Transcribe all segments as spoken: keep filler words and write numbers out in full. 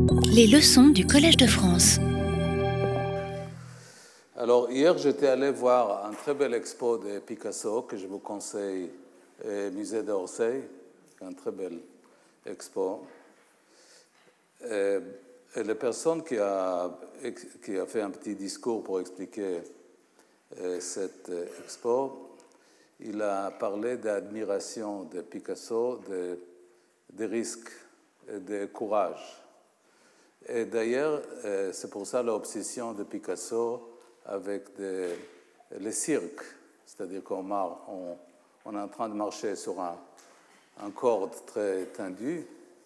Les leçons du Collège de France. Alors, hier, j'étais allé voir un très bel expo de Picasso que je vous conseille, au musée d'Orsay, un très bel expo. Et, et la personne qui a, qui a fait un petit discours pour expliquer euh, cette expo, il a parlé d'admiration de Picasso, de, de risques et de courage. Et d'ailleurs, euh, c'est pour ça l'obsession de Picasso avec des, les cirques, c'est-à-dire qu'on on, on est en train de marcher sur un, un corde très tendu.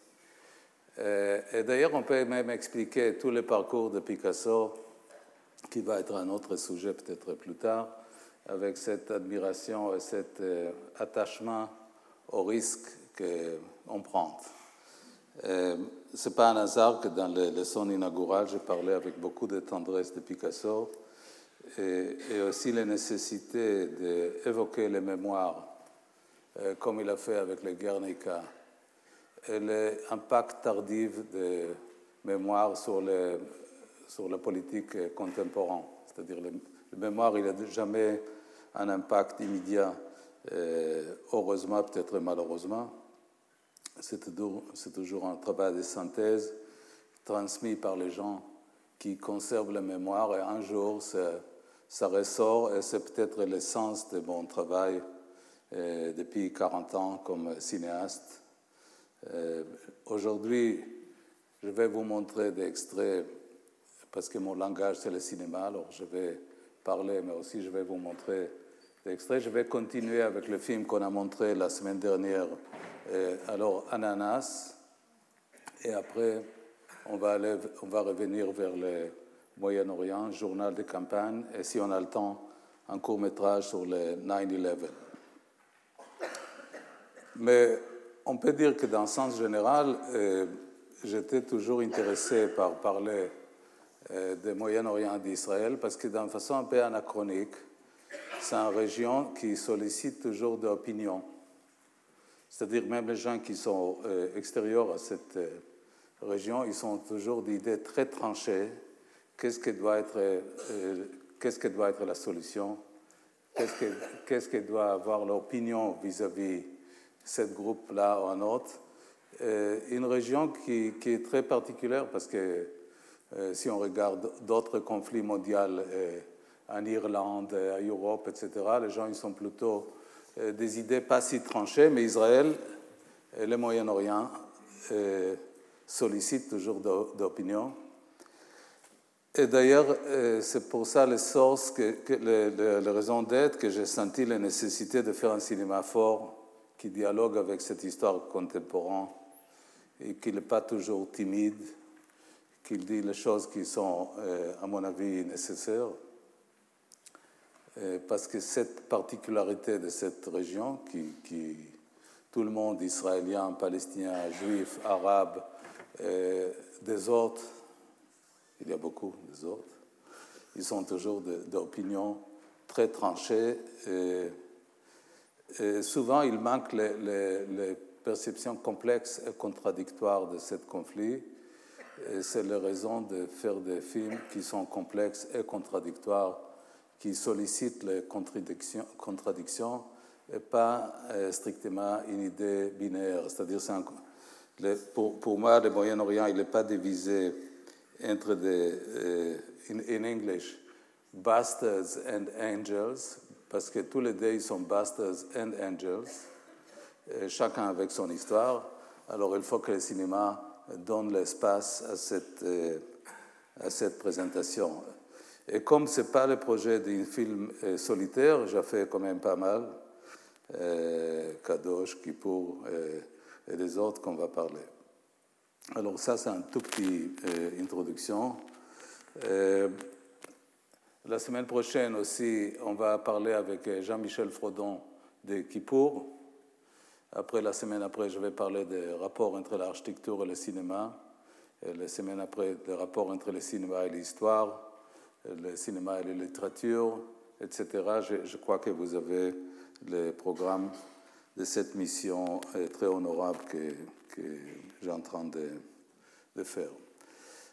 Et, et d'ailleurs, on peut même expliquer tout le parcours de Picasso, qui va être un autre sujet peut-être plus tard, avec cette admiration et cet euh, attachement au risque qu'on prend. Ce n'est pas un hasard que dans les leçons inaugurales, j'ai parlé avec beaucoup de tendresse de Picasso et, et aussi la nécessité d'évoquer les mémoires, euh, comme il a fait avec le Guernica, et l'impact tardif des mémoires sur, les, sur la politique contemporaine. C'est-à-dire le, le mémoire, il n'a jamais un impact immédiat, euh, heureusement, peut-être malheureusement. C'est toujours, c'est toujours un travail de synthèse transmis par les gens qui conservent la mémoire et un jour ça, ça ressort et c'est peut-être l'essence de mon travail euh, depuis quarante ans comme cinéaste. Euh, aujourd'hui, je vais vous montrer des extraits parce que mon langage c'est le cinéma, alors je vais parler mais aussi je vais vous montrer des extraits. Je vais continuer avec le film qu'on a montré la semaine dernière. Et alors, Ananas, et après, on va, aller, on va revenir vers le Moyen-Orient, journal de campagne, et si on a le temps, un court-métrage sur le neuf onze. Mais on peut dire que dans le sens général, euh, j'étais toujours intéressé par parler euh, du Moyen-Orient d'Israël, parce que d'une façon un peu anachronique, c'est une région qui sollicite toujours de l'opinion. C'est-à-dire même les gens qui sont euh, extérieurs à cette euh, région, ils ont toujours d'idées très tranchées. Qu'est-ce que doit être, euh, qu'est-ce que doit être la solution? Qu'est-ce que, qu'est-ce que doit avoir l'opinion vis-à-vis de ce groupe-là ou un autre? Euh, une région qui, qui est très particulière parce que euh, si on regarde d'autres conflits mondiaux euh, en Irlande, en Europe, et cetera, les gens ils sont plutôt des idées pas si tranchées, mais Israël et le Moyen-Orient euh, sollicitent toujours d'opinion. Et d'ailleurs, euh, c'est pour ça les sources, que, que les, les, les raisons d'être que j'ai senti la nécessité de faire un cinéma fort qui dialogue avec cette histoire contemporaine et qui n'est pas toujours timide, qui dit les choses qui sont, euh, à mon avis, nécessaires. Parce que cette particularité de cette région, qui, qui tout le monde, israélien, palestinien, juif, arabe, euh, des autres, il y a beaucoup des autres, ils sont toujours d'opinions très tranchées. Et, et souvent, il manque les, les, les perceptions complexes et contradictoires de ce conflit. Et c'est la raison de faire des films qui sont complexes et contradictoires, qui sollicitent les contradictions, contradictions et pas euh, strictement une idée binaire. C'est-à-dire, c'est un, le, pour, pour moi, le Moyen-Orient, il n'est pas divisé entre des, euh, in, in English, bastards and angels, parce que tous les deux, ils sont bastards and angels, et chacun avec son histoire. Alors, il faut que le cinéma donne l'espace à cette, euh, à cette présentation. Et comme ce n'est pas le projet d'un film euh, solitaire, j'ai fait quand même pas mal, euh, Kadosh, Kippour euh, et les autres qu'on va parler. Alors ça, c'est une toute petite euh, introduction. Euh, la semaine prochaine aussi, on va parler avec Jean-Michel Frodon de Kippour. Après, la semaine après, je vais parler des rapports entre l'architecture et le cinéma. Et la semaine après, des rapports entre le cinéma et l'histoire, le cinéma et la littérature, et cetera. Je, je crois que vous avez le programme de cette mission très honorable que, que j'ai en train de, de faire.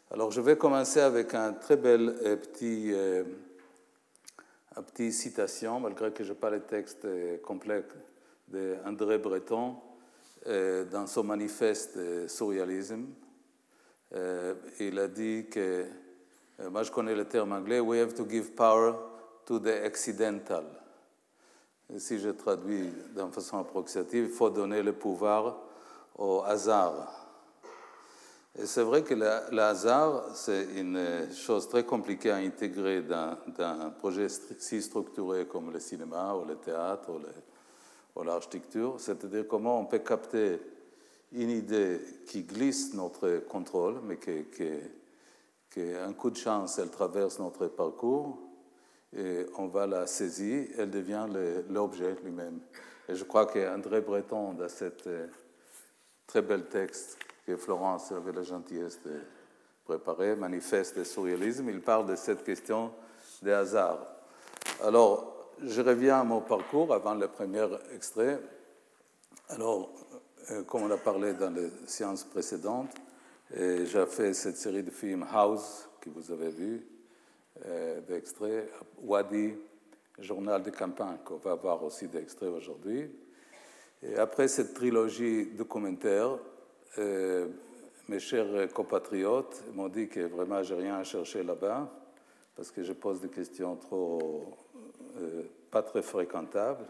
Alors, je vais commencer avec un très bel euh, petit, euh, un petit citation, malgré que je n'ai pas le texte euh, complet, d'André Breton euh, dans son manifeste de surrealisme. Euh, il a dit que, euh, moi je connais le terme anglais, we have to give power to the accidental. Et si je traduis d'une façon approximative, il faut donner le pouvoir au hasard. Et c'est vrai que le, le hasard, c'est une chose très compliquée à intégrer dans, dans un projet si structuré comme le cinéma ou le théâtre ou, le, ou l'architecture. C'est-à-dire comment on peut capter une idée qui glisse notre contrôle, mais qu'un coup de chance, elle traverse notre parcours, et on va la saisir, elle devient l'objet lui-même. Et je crois qu'André Breton, dans cet euh, très bel texte que Florence avait la gentillesse de préparer, Manifeste de surréalisme, il parle de cette question des hasards. Alors, je reviens à mon parcours avant le premier extrait. Alors, euh, comme on a parlé dans les séances précédentes, euh, j'ai fait cette série de films House, que vous avez vu, euh, d'extraits, Wadi, Journal de campagne, qu'on va voir aussi d'extraits aujourd'hui. Et après cette trilogie documentaire, euh, mes chers compatriotes m'ont dit que vraiment, je n'ai rien à chercher là-bas, parce que je pose des questions trop, euh, pas très fréquentables,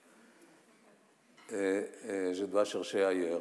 et, et je dois chercher ailleurs.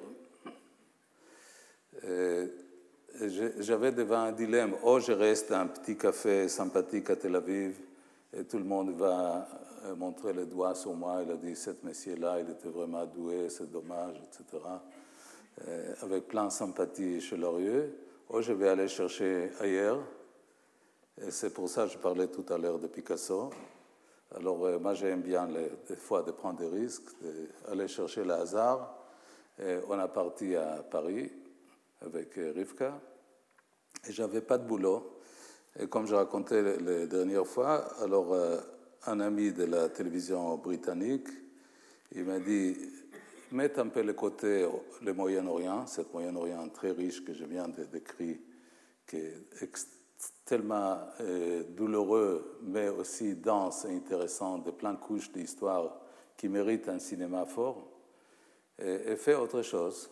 Et, et j'avais devant un dilemme, oh, je reste à un petit café sympathique à Tel Aviv, et tout le monde va montrer le doigt sur moi, il a dit, cet monsieur-là, il était vraiment doué, c'est dommage, et cetera, euh, avec plein de sympathie chaleureux. Oh, je vais aller chercher ailleurs. Et c'est pour ça que je parlais tout à l'heure de Picasso. Alors, euh, moi, j'aime bien, les, des fois, de prendre des risques, d'aller chercher le hasard. Et on est parti à Paris avec euh, Rivka. Et je n'avais pas de boulot. Et comme je racontais la, la dernière fois, alors, euh, un ami de la télévision britannique, il m'a dit, mets un peu le côté le Moyen-Orient, cet Moyen-Orient très riche que je viens de décrire, qui est tellement euh, douloureux, mais aussi dense et intéressant, de plein de couches d'histoire qui méritent un cinéma fort, et, et fais autre chose.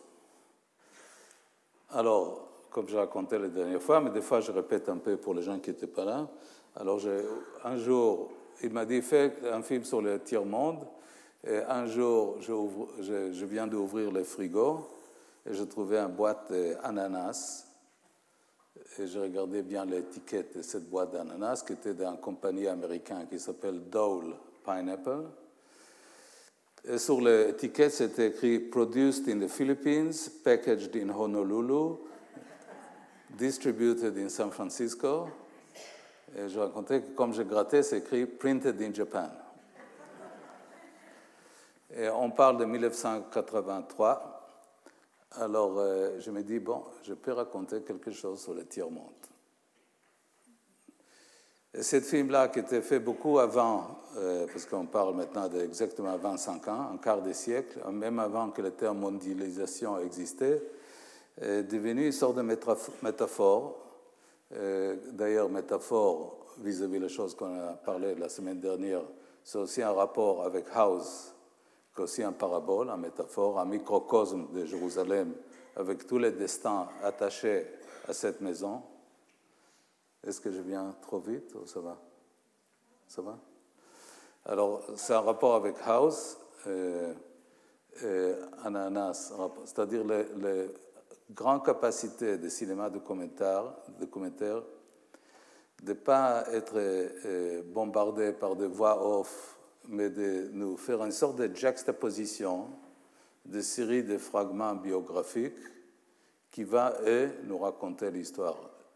Alors, comme je racontais la dernière fois, mais des fois je répète un peu pour les gens qui n'étaient pas là, alors je, un jour, il m'a dit, fais un film sur le tiers-monde. Et un jour, je, je, je viens d'ouvrir le frigo et je trouvais une boîte d'ananas. Et je regardais bien l'étiquette de cette boîte d'ananas qui était d'une compagnie américaine qui s'appelle Dole Pineapple. Et sur l'étiquette, c'était écrit « Produced in the Philippines, packaged in Honolulu, distributed in San Francisco ». Et je racontais que comme je grattais, c'est écrit « Printed in Japan ». Et on parle de mille neuf cent quatre-vingt-trois. Alors, euh, je me dis, bon, je peux raconter quelque chose sur le tiers-monde. Et ce film-là, qui était fait beaucoup avant, euh, parce qu'on parle maintenant d'exactement vingt-cinq ans, un quart de siècle, même avant que le terme mondialisation existait, est devenu une sorte de métaphore. Euh, d'ailleurs, métaphore vis-à-vis des choses qu'on a parlé la semaine dernière, c'est aussi un rapport avec House, aussi un parabole, un métaphore, un microcosme de Jérusalem avec tous les destins attachés à cette maison. Est-ce que je viens trop vite ou ça va? Ça va? Alors, c'est un rapport avec House, euh, et Ananas, c'est-à-dire les, les grandes capacités de cinéma documentaire, documentaire de ne pas être euh, bombardé par des voix off, mais de nous faire une sorte de juxtaposition de séries de fragments biographiques qui va, eux, nous raconter l'histoire.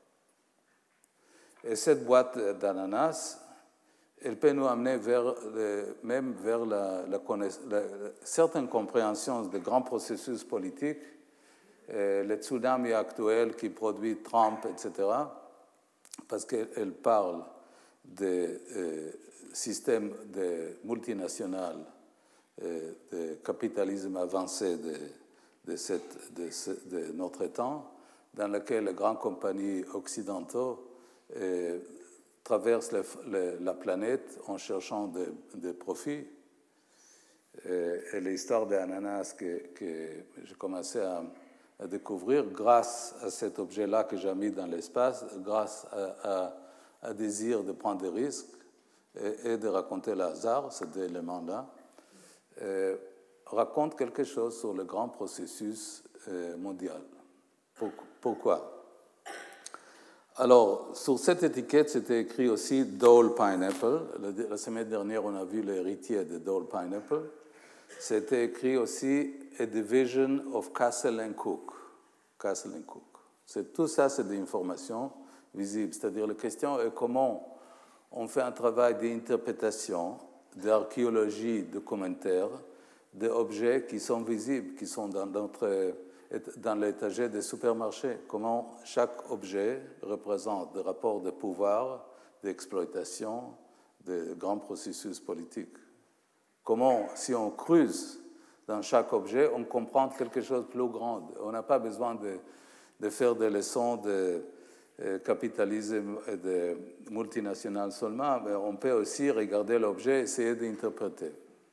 Et cette boîte d'ananas, elle peut nous amener vers le, même vers la, la, la, certaines compréhensions de grands processus politiques, et le tsunami actuel qui produit Trump, et cetera, parce qu'elle parle de euh, système de multinational, euh, de capitalisme avancé de, de, cette, de, ce, de notre temps, dans lequel les grandes compagnies occidentales euh, traversent le, le, la planète en cherchant des de profits. Et, et l'histoire des ananas que, que j'ai commencé à, à découvrir grâce à cet objet-là que j'ai mis dans l'espace, grâce à, à, à désir de prendre des risques et, et de raconter le hasard, ces deux éléments-là, euh, raconte quelque chose sur le grand processus euh, mondial. Pourquoi? Alors, sur cette étiquette, c'était écrit aussi Dole Pineapple. La semaine dernière, on a vu l'héritier de Dole Pineapple. C'était écrit aussi A Division of Castle and Cooke. Castle and Cooke. C'est, tout ça, c'est des informations visibles. C'est-à-dire, la question est comment on fait un travail d'interprétation, d'archéologie, de commentaires, d'objets qui sont visibles, qui sont dans notre... dans l'étagère des supermarchés, comment chaque objet représente des rapports de pouvoir, d'exploitation, de grands processus politiques. Comment, si on creuse dans chaque objet, on comprend quelque chose de plus grand. On n'a pas besoin de, de faire des leçons de euh, capitalisme et de multinationales seulement, mais on peut aussi regarder l'objet et essayer d'interpréter.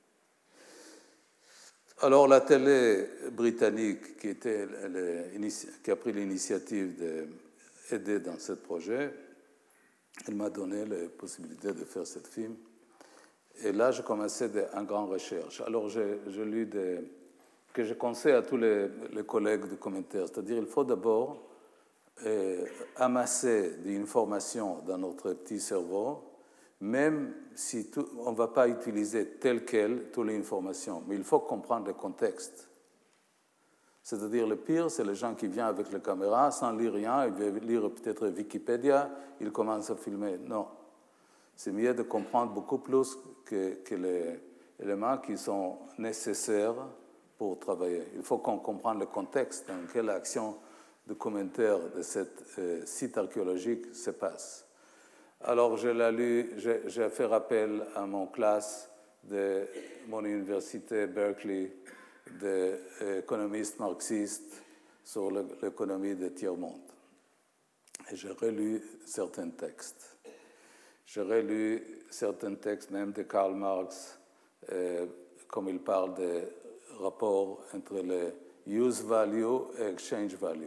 Alors, la télé britannique qui, était le, qui a pris l'initiative d'aider dans ce projet, elle m'a donné la possibilité de faire ce film. Et là, j'ai commencé une grande recherche. Alors, j'ai, j'ai lu des, que je conseille à tous les, les collègues de commentaires. C'est-à-dire, il faut d'abord euh, amasser des informations dans notre petit cerveau, même si tout, on ne va pas utiliser telle quelle toutes les informations, mais il faut comprendre le contexte. C'est-à-dire, le pire, c'est les gens qui viennent avec la caméra sans lire rien, ils veulent lire peut-être Wikipédia, ils commencent à filmer. Non. C'est mieux de comprendre beaucoup plus que, que les éléments qui sont nécessaires pour travailler. Il faut qu'on comprenne le contexte dans lequel l'action de commentaire de ce euh, site archéologique se passe. Alors, je l'ai lu, j'ai, j'ai fait rappel à mon classe de mon université Berkeley d'économistes marxistes sur le, l'économie de tiers-monde. Et j'ai relu certains textes. J'ai relu certains textes même de Karl Marx, euh, comme il parle des rapports entre le use value et exchange value.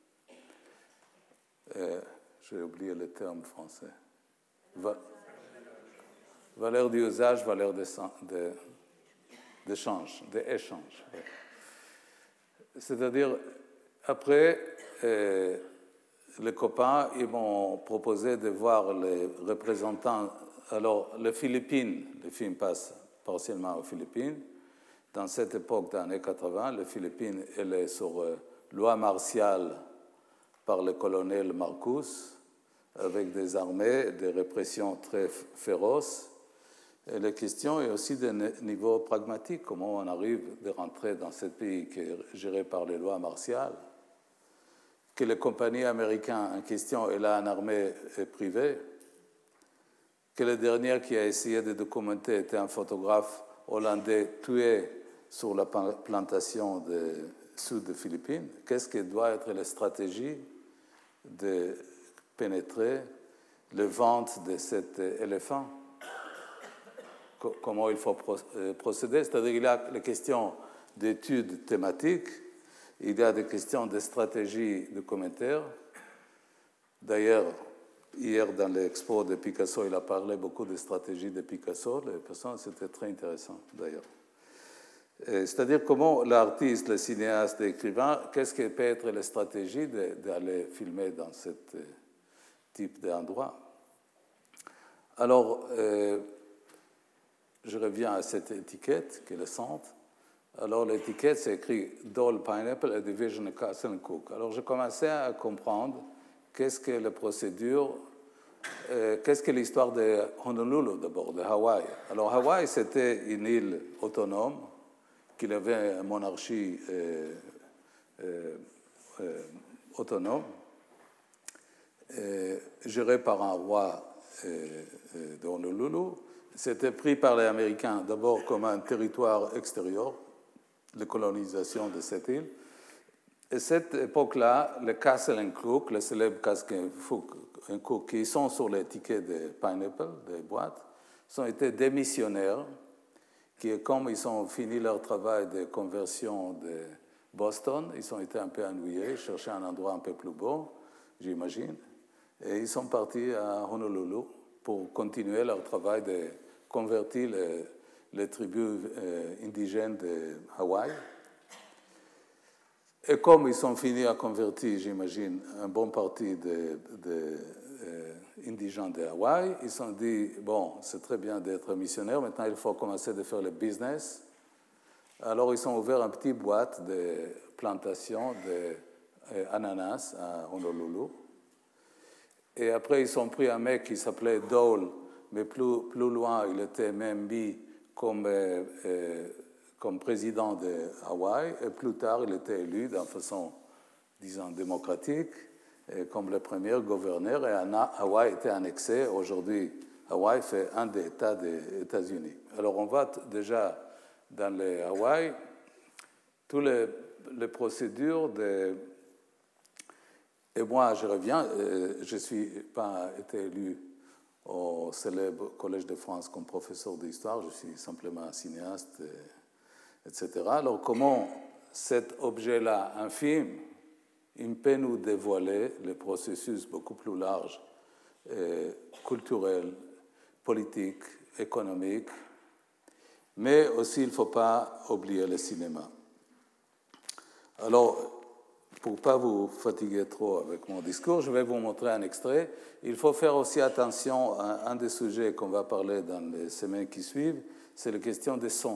Euh, j'ai oublié le terme français. Va- valeur d'usage, valeur d'échange, d'échange. C'est-à-dire, après, euh, les copains, ils m'ont proposé de voir les représentants. Alors, les Philippines, le film passe partiellement aux Philippines. Dans cette époque des années quatre-vingts, les Philippines, elle est sur euh, loi martiale par le colonel Marcus, avec des armées, des répressions très féroces. Et la question est aussi de niveau pragmatique, comment on arrive de rentrer dans ce pays qui est géré par les lois martiales, que les compagnies américaines en question aient là une armée privée, que le dernier qui a essayé de documenter était un photographe hollandais tué sur la plantation de sud des Philippines. Qu'est-ce que doit être la stratégie de pénétrer le ventre de cet éléphant? Comment il faut procéder? C'est-à-dire qu'il y a les questions d'études thématiques, il y a des questions de stratégie de commentaires. D'ailleurs, hier, dans l'expo de Picasso, il a parlé beaucoup de stratégie de Picasso. Les personnes, c'était très intéressant, d'ailleurs. C'est-à-dire comment l'artiste, le cinéaste, l'écrivain, qu'est-ce que peut être la stratégie d'aller filmer dans ce type d'endroit? Alors, euh, je reviens à cette étiquette qui est le centre. Alors, l'étiquette, c'est écrit Dole Pineapple, a Division of Castle and Cooke. Alors, j'ai commencé à comprendre qu'est-ce que la procédure, euh, qu'est-ce que l'histoire de Honolulu d'abord, de Hawaï. Alors, Hawaï, c'était une île autonome qui avait une monarchie euh, euh, euh, autonome, euh, gérée par un roi euh, euh, de Honolulu. C'était pris par les Américains d'abord comme un territoire extérieur, la colonisation de cette île. Et cette époque-là, le Castle Cook, le célèbre Castle Cook, qui sont sur les tickets de Pineapple, des boîtes, ont été des missionnaires qui, comme ils ont fini leur travail de conversion de Boston, ils ont été un peu ennuyés, cherchaient un endroit un peu plus beau, j'imagine, et ils sont partis à Honolulu pour continuer leur travail de convertir les, les tribus euh, indigènes de Hawaï. Et comme ils ont fini à convertir, j'imagine, un bon parti de, de euh, indigènes de Hawaï, ils se sont dit, bon, c'est très bien d'être missionnaire, maintenant il faut commencer de faire le business. Alors ils ont ouvert une petite boîte de plantation d'ananas à Honolulu. Et après, ils ont pris un mec qui s'appelait Dole, mais plus, plus loin, il était même mis comme, euh, euh, comme président de Hawaï. Et plus tard, il était élu d'une façon, disons, démocratique, comme le premier gouverneur. Et Hawaï était annexé. Aujourd'hui, Hawaï fait un des États des États-Unis. Alors, on voit déjà dans les Hawaï toutes les, les procédures de... Et moi, je reviens, je ne suis pas été élu au célèbre Collège de France comme professeur d'histoire, je suis simplement un cinéaste, et cetera. Alors, comment cet objet-là, infime, il peut nous dévoiler le processus beaucoup plus large, culturel, politique, économique, mais aussi il ne faut pas oublier le cinéma. Alors, pour ne pas vous fatiguer trop avec mon discours, je vais vous montrer un extrait. Il faut faire aussi attention à un des sujets qu'on va parler dans les semaines qui suivent, c'est la question des sons.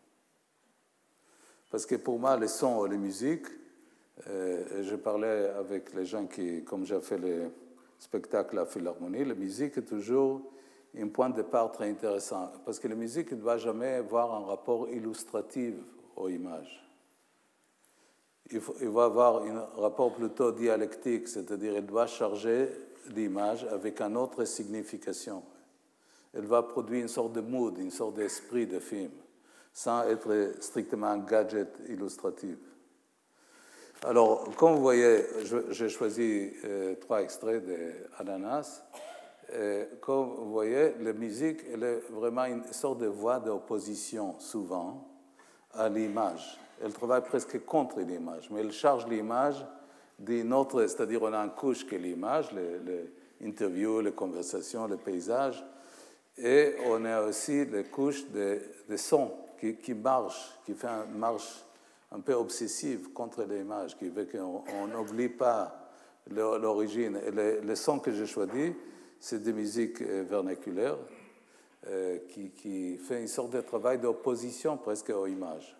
Parce que pour moi, les sons et les musiques, euh, je parlais avec les gens qui, comme j'ai fait le spectacle à Philharmonie, la musique est toujours un point de départ très intéressant. Parce que la musique ne doit jamais avoir un rapport illustratif aux images. Il, faut, il va avoir un rapport plutôt dialectique, c'est-à-dire il doit charger l'image avec une autre signification. Elle va produire une sorte de mood, une sorte d'esprit de film, sans être strictement un gadget illustratif. Alors, comme vous voyez, j'ai choisi euh, trois extraits d'Ananas. Euh, comme vous voyez, la musique, elle est vraiment une sorte de voix d'opposition, souvent, à l'image. Elle travaille presque contre l'image, mais elle charge l'image d'une autre, c'est-à-dire on a une couche qui est l'image, les, les interviews, les conversations, les paysages, et on a aussi les couches de, de sons qui, qui marchent, qui fait une marche un peu obsessive contre l'image, qui veut qu'on n'oublie pas l'origine. Et les, les sons que j'ai choisis, c'est des musiques vernaculaires euh, qui, qui fait une sorte de travail d'opposition presque aux images.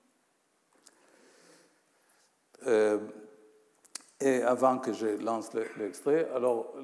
Euh, et avant que je lance l'extrait, alors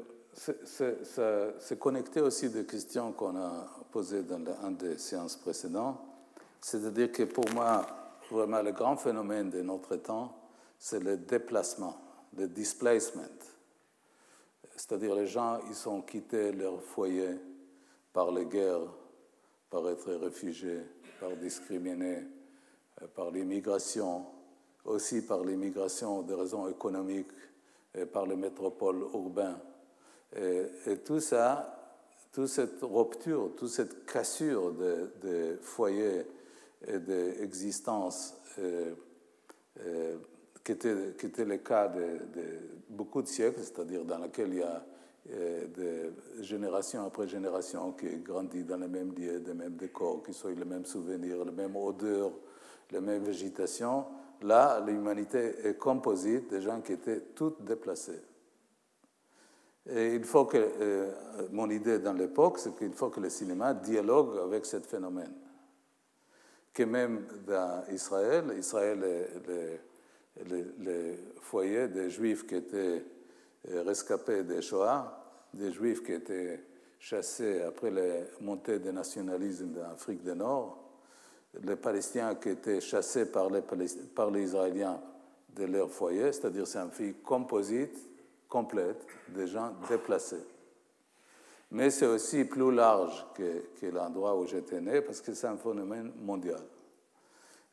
c'est connecté aussi des questions qu'on a posées dans une des séances précédentes. C'est-à-dire que pour moi, vraiment, le grand phénomène de notre temps, c'est le déplacement, le displacement. C'est-à-dire les gens, ils ont quitté leur foyer par les guerres, par être réfugiés, par discriminés, par l'immigration, aussi par l'immigration des raisons économiques, et par les métropoles urbaines. Et, et tout ça, toute cette rupture, toute cette cassure de, de foyers et d'existence euh, euh, qui, était, qui était le cas de, de beaucoup de siècles, c'est-à-dire dans lequel il y a euh, de génération après génération qui grandit dans les mêmes lieux, les mêmes décors, qui sont les mêmes souvenirs, les mêmes odeurs, les mêmes végétations. Là, l'humanité est composite de gens qui étaient tous déplacés. Et il faut que, euh, mon idée dans l'époque, c'est qu'il faut que le cinéma dialogue avec ce phénomène. Que même dans Israël, Israël est le, le, le foyer des Juifs qui étaient rescapés des Shoah, des Juifs qui étaient chassés après la montée du nationalisme d'Afrique du Nord, les Palestiniens qui étaient chassés par les, par les Israéliens de leur foyer, c'est-à-dire c'est un film composite, complète, des gens déplacés. Mais c'est aussi plus large que, que l'endroit où j'étais né, parce que c'est un phénomène mondial.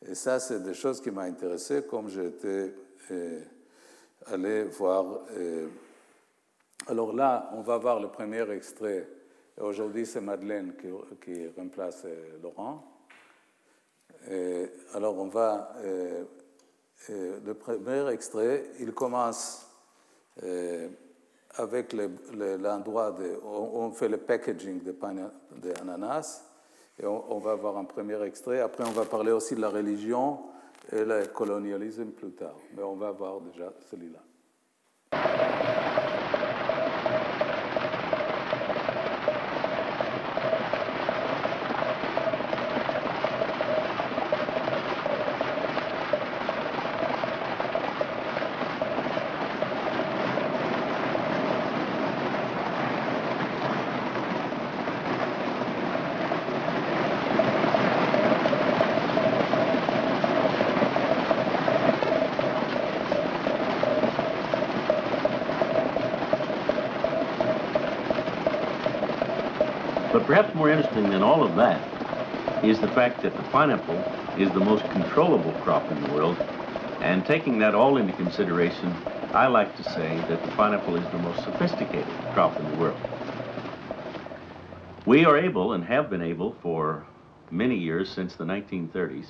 Et ça, c'est des choses qui m'ont intéressé, comme j'étais euh, allé voir. Euh, alors là, on va voir le premier extrait. Aujourd'hui, c'est Madeleine qui, qui remplace euh, Laurent. Et alors, on va. Euh, euh, le premier extrait, il commence euh, avec l'endroit de. On, on fait le packaging de, de ananas. Et on, on va voir un premier extrait. Après, on va parler aussi de la religion et le colonialisme plus tard. Mais on va voir déjà celui-là. But perhaps more interesting than all of that is the fact that the pineapple is the most controllable crop in the world. And taking that all into consideration, I like to say that the pineapple is the most sophisticated crop in the world. We are able, and have been able for many years since the nineteen thirties,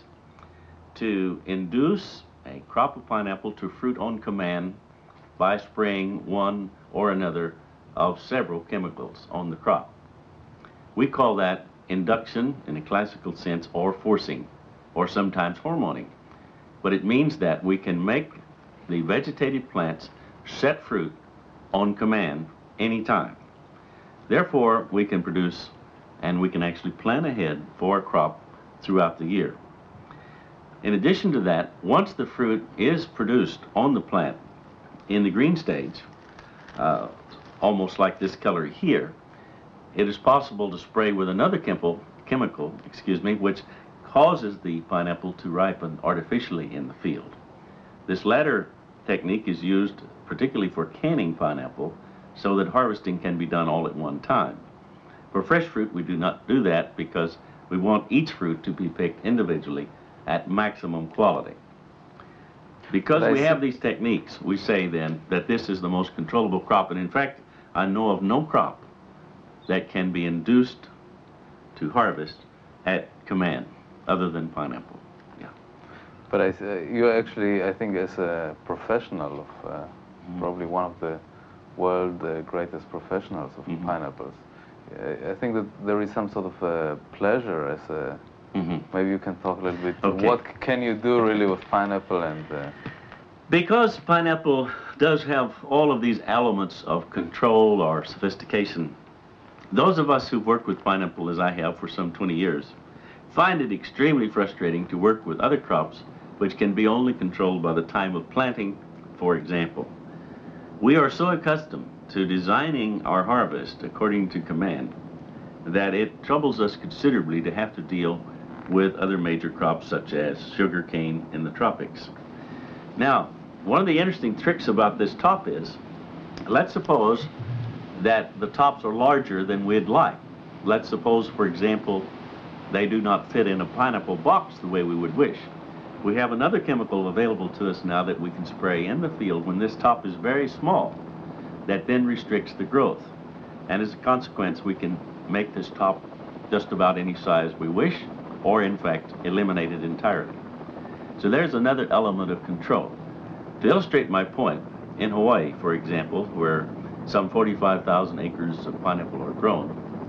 to induce a crop of pineapple to fruit on command by spraying one or another of several chemicals on the crop. We call that induction in a classical sense, or forcing, or sometimes hormoning. But it means that we can make the vegetative plants set fruit on command anytime. Therefore, we can produce, and we can actually plan ahead for a crop throughout the year. In addition to that, once the fruit is produced on the plant in the green stage, uh, almost like this color here, it is possible to spray with another chemical, chemical, excuse me, which causes the pineapple to ripen artificially in the field. This latter technique is used particularly for canning pineapple so that harvesting can be done all at one time. For fresh fruit, we do not do that because we want each fruit to be picked individually at maximum quality. Because we have these techniques, we say then that this is the most controllable crop, and in fact, I know of no crop that can be induced to harvest at command other than pineapple. Yeah. But I, uh, you actually, I think, as a professional of uh, mm-hmm. probably one of the world uh, greatest professionals of mm-hmm. pineapples, uh, I think that there is some sort of uh, pleasure as a, mm-hmm. maybe you can talk a little bit, okay. What can you do really with pineapple and... Uh, because pineapple does have all of these elements of control or sophistication, those of us who've worked with pineapple, as I have for some twenty years, find it extremely frustrating to work with other crops which can be only controlled by the time of planting, for example. We are so accustomed to designing our harvest according to command that it troubles us considerably to have to deal with other major crops such as sugar cane in the tropics. Now, one of the interesting tricks about this top is, let's suppose that the tops are larger than we'd like. Let's suppose, for example, they do not fit in a pineapple box the way we would wish. We have another chemical available to us now that we can spray in the field when this top is very small, that then restricts the growth. And as a consequence, we can make this top just about any size we wish, or in fact, eliminate it entirely. So there's another element of control. To illustrate my point, in Hawaii, for example, where some forty-five thousand acres of pineapple are grown,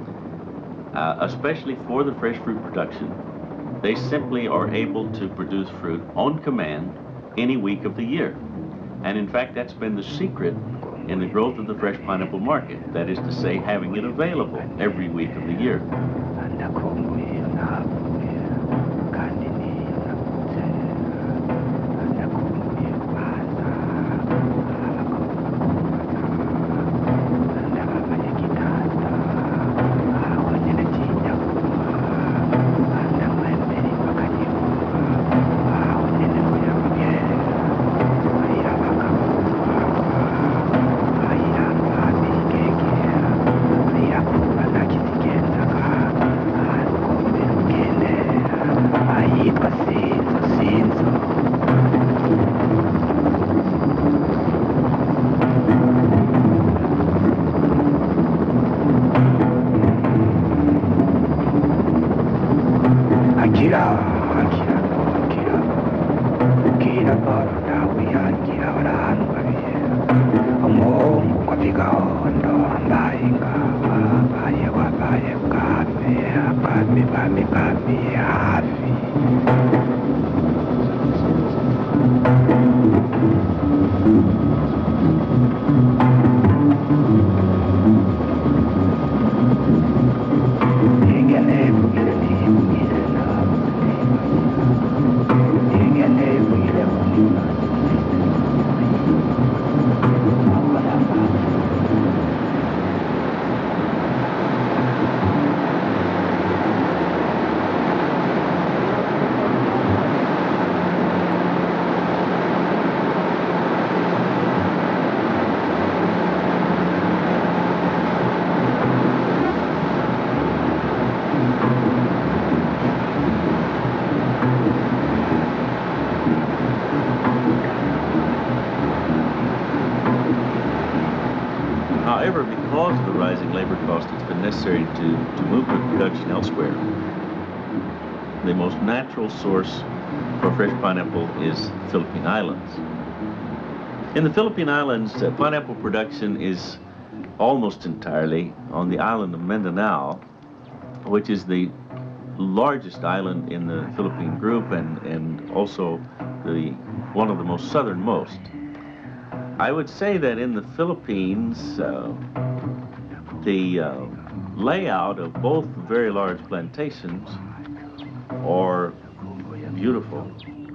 uh, especially for the fresh fruit production, they simply are able to produce fruit on command any week of the year. And in fact, that's been the secret in the growth of the fresh pineapple market. That is to say, having it available every week of the year. However, because of the rising labor cost, it's been necessary to, to move the production elsewhere. The most natural source for fresh pineapple is Philippine Islands. In the Philippine Islands, uh, pineapple production is almost entirely on the island of Mindanao, which is the largest island in the Philippine group and, and also the one of the most southernmost. I would say that in the Philippines, uh, the uh, layout of both very large plantations are beautiful.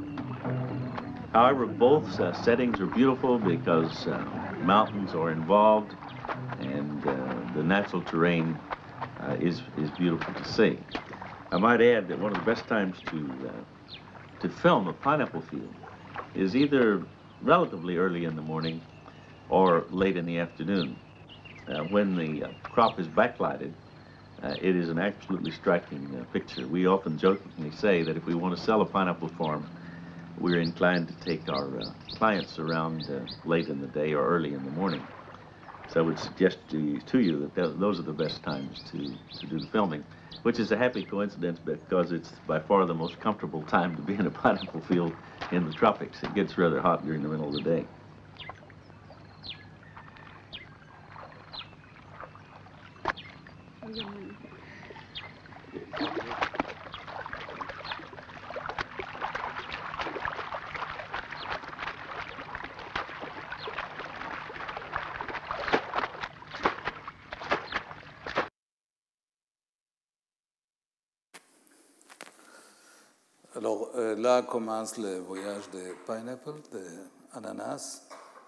However, both uh, settings are beautiful because uh, mountains are involved and uh, the natural terrain uh, is, is beautiful to see. I might add that one of the best times to, uh, to film a pineapple field is either relatively early in the morning or late in the afternoon. Uh, when the uh, crop is backlighted, uh, it is an absolutely striking uh, picture. We often jokingly say that if we want to sell a pineapple farm, we're inclined to take our uh, clients around uh, late in the day or early in the morning. So I would suggest to you, to you that th those are the best times to, to do the filming, which is a happy coincidence because it's by far the most comfortable time to be in a pineapple field in the tropics. It gets rather hot during the middle of the day. Alors euh, là commence le voyage de pineapple, de ananas.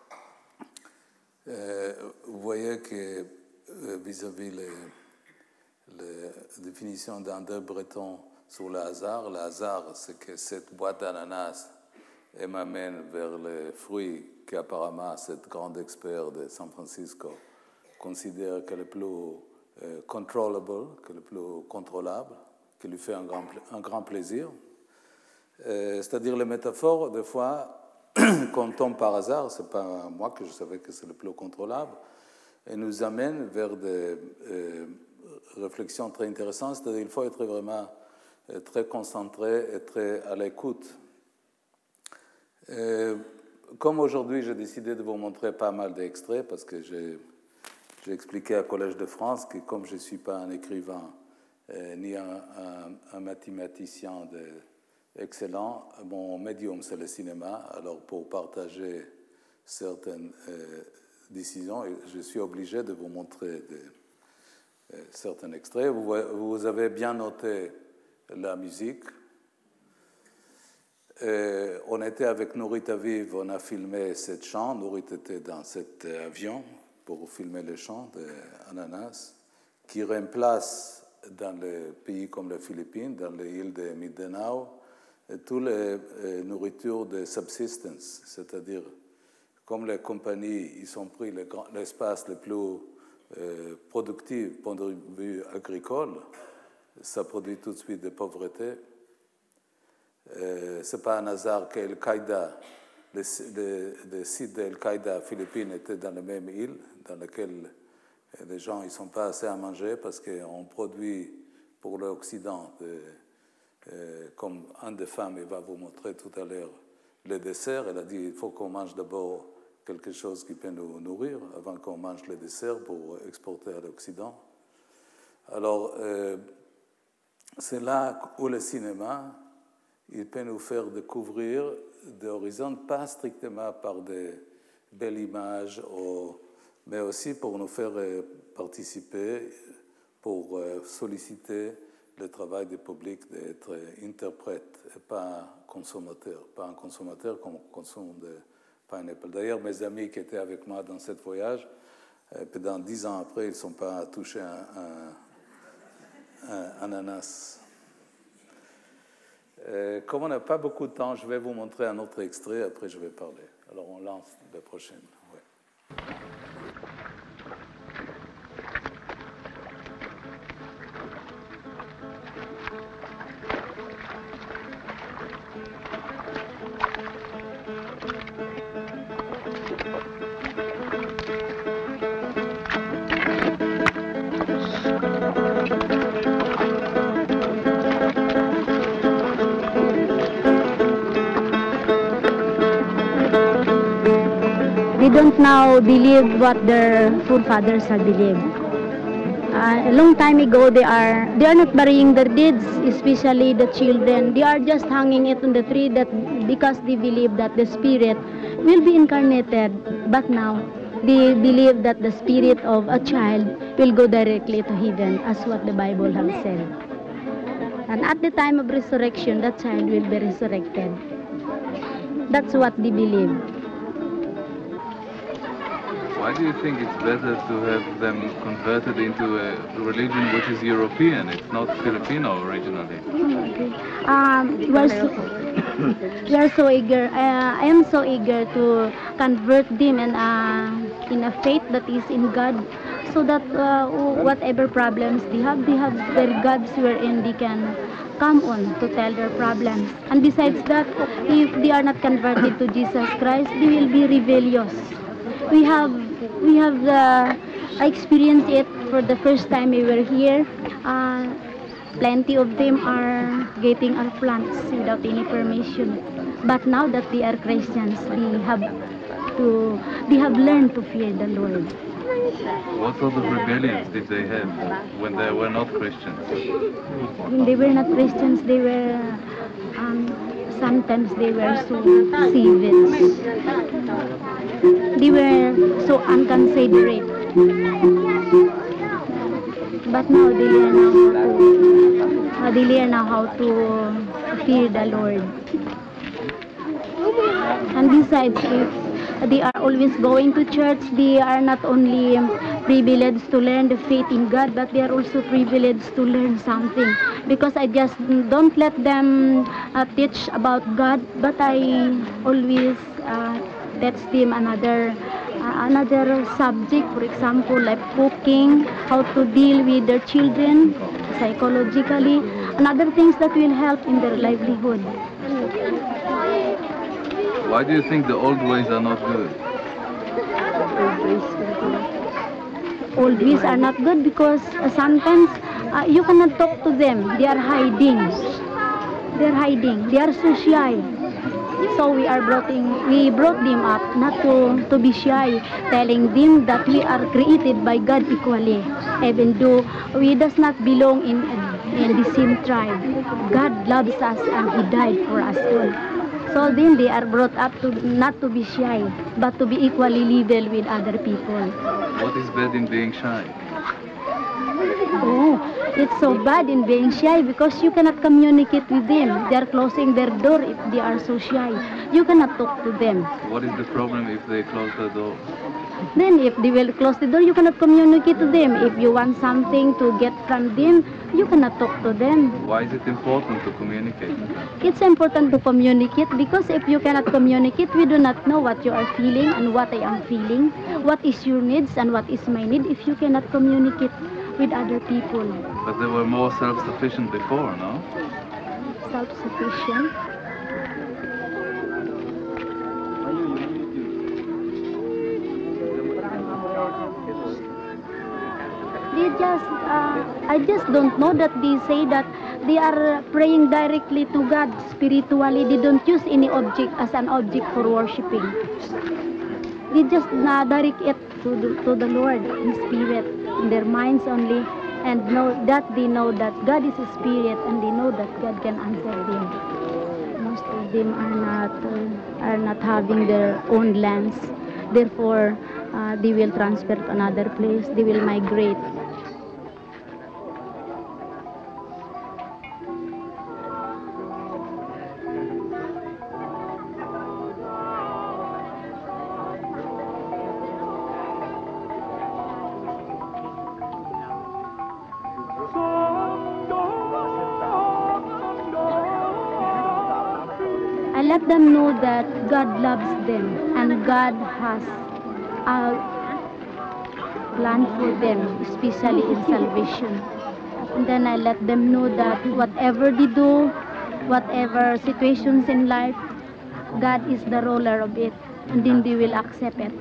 Euh, vous voyez que euh, vis-à-vis la définition d'André Breton sur le hasard, le hasard c'est que cette boîte d'ananas m'amène vers les fruits qu'apparemment cette grande expert de San Francisco considère que le plus euh, controllable, que le plus contrôlable, qui lui fait un grand, un grand plaisir. Euh, c'est-à-dire les métaphores, des fois, quand on tombe par hasard, ce n'est pas moi que je savais que c'est le plus contrôlable, et nous amène vers des euh, réflexions très intéressantes, c'est-à-dire qu'il faut être vraiment euh, très concentré et très à l'écoute. Euh, comme aujourd'hui, j'ai décidé de vous montrer pas mal d'extraits, parce que j'ai, j'ai expliqué au Collège de France que comme je ne suis pas un écrivain, euh, ni un, un, un mathématicien de excellent. Mon médium, c'est le cinéma. Alors, pour partager certaines euh, décisions, je suis obligé de vous montrer des, euh, certains extraits. Vous, vous avez bien noté la musique. Et on était avec Nourit Aviv, on a filmé cette chant. Nourit était dans cet avion pour filmer le chant d'Ananas, qui remplace dans les pays comme les Philippines, dans les îles de Mindanao, toutes les euh, nourritures de subsistence, c'est-à-dire comme les compagnies ils ont pris le grand, l'espace le plus euh, productif point de vue agricole, ça produit tout de suite de pauvreté. Euh, ce n'est pas un hasard qu'Al-Qaïda, les, les, les sites d'Al-Qaïda aux Philippines étaient dans la même île, dans laquelle les gens ne sont pas assez à manger parce qu'on produit pour l'Occident de, Euh, comme une des femmes, elle va vous montrer tout à l'heure le dessert. Elle a dit il faut qu'on mange d'abord quelque chose qui peut nous nourrir avant qu'on mange le dessert pour exporter à l'Occident. Alors, euh, c'est là où le cinéma, il peut nous faire découvrir des horizons, pas strictement par des belles images, ou, mais aussi pour nous faire participer, pour solliciter le travail du public d'être interprète et pas consommateur, pas un consommateur comme consomme de pineapple. D'ailleurs, mes amis qui étaient avec moi dans ce voyage, pendant dix ans après, ils ne sont pas touchés à un, un, un ananas. Euh, comme on n'a pas beaucoup de temps, je vais vous montrer un autre extrait, après je vais parler. Alors on lance la prochaine. Ouais. They don't now believe what their forefathers have believed. Uh, a long time ago, they are they are not burying their deeds, especially the children. They are just hanging it on the tree that because they believe that the spirit will be incarnated. But now, they believe that the spirit of a child will go directly to heaven, as what the Bible has said. And at the time of resurrection, that child will be resurrected. That's what they believe. Why do you think it's better to have them converted into a religion which is European? It's not Filipino originally. Um, we are so, we are so eager. Uh, I am so eager to convert them in a, in a faith that is in God, so that uh, whatever problems they have, they have their gods wherein they can come on to tell their problems. And besides that, if they are not converted to Jesus Christ, they will be rebellious. We have we have uh, experienced it for the first time we were here. Uh, plenty of them are getting our plants without any permission. But now that they are Christians, they have to they have learned to fear the Lord. What sort of rebellions did they have when they were not Christians? When they were not Christians, they were um, sometimes they were so savage. They were so unconsiderate. But now they learn now how to, uh, they learn now how to fear the Lord. And besides, if they are always going to church, they are not only privileged to learn the faith in God, but they are also privileged to learn something. Because I just don't let them uh, teach about God, but I always uh, teach them another uh, another subject, for example, like cooking, how to deal with their children psychologically, and other things that will help in their livelihood. Why do you think the old ways are not good? Old ways are not good because uh, sometimes uh, you cannot talk to them. They are hiding. They are hiding. They are so shy. So we are brought in, we brought them up not to, to be shy, telling them that we are created by God equally, even though we does not belong in, in the same tribe. God loves us and He died for us all. So then they are brought up to not to be shy, but to be equally level with other people. What is bad in being shy? Oh, it's so bad in being shy because you cannot communicate with them. They are closing their door if they are so shy. You cannot talk to them. What is the problem if they close the door? Then if they will close the door, you cannot communicate to them. If you want something to get from them, you cannot talk to them. Why is it important to communicate? It's important to communicate because if you cannot communicate, we do not know what you are feeling and what I am feeling, what is your needs and what is my need if you cannot communicate with other people. But they were more self-sufficient before, no? Self-sufficient? They just, uh, I just don't know that they say that they are praying directly to God spiritually. They don't use any object as an object for worshipping. they just uh, direct it to the, to the Lord in spirit, in their minds only, and know that they know that God is a spirit, and they know that God can answer them. Most of them are not uh, are not having their own lands, therefore uh, they will transfer to another place. They will migrate. I let them know that God loves them and God has a plan for them, especially in salvation. And then I let them know that whatever they do, whatever situations in life, God is the ruler of it, and then they will accept it.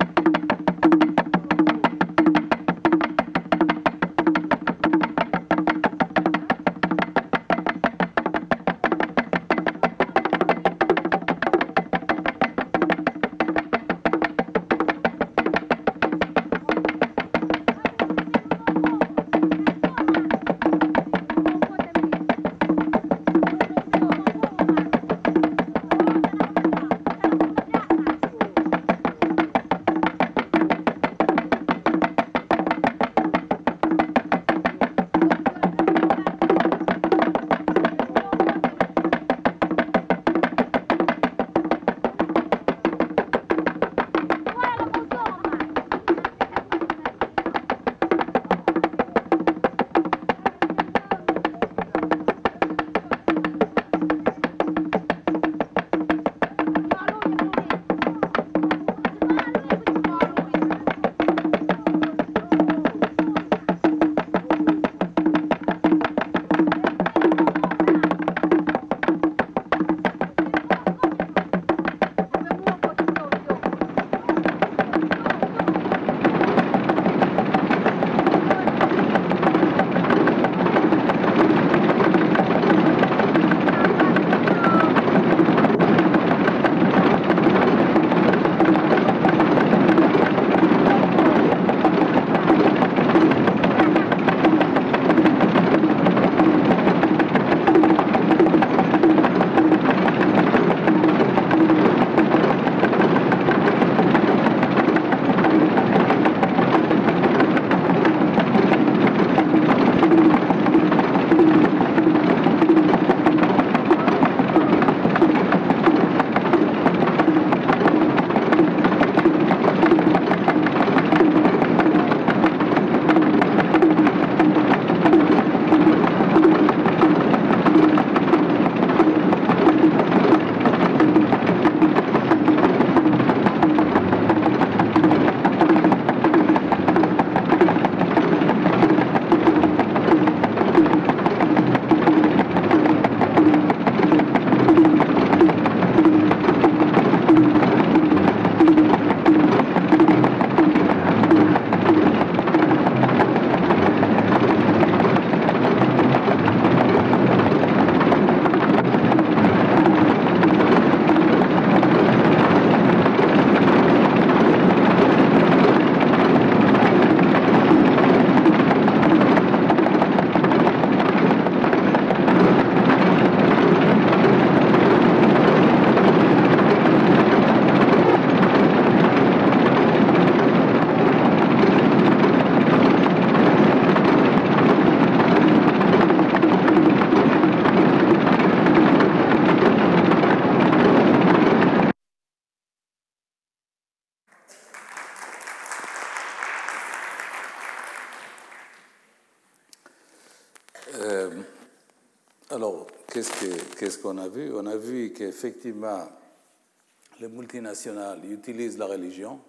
Alors, qu'est-ce que- qu'est-ce qu'on a vu? On a vu qu'effectivement, les multinationales utilisent la religion,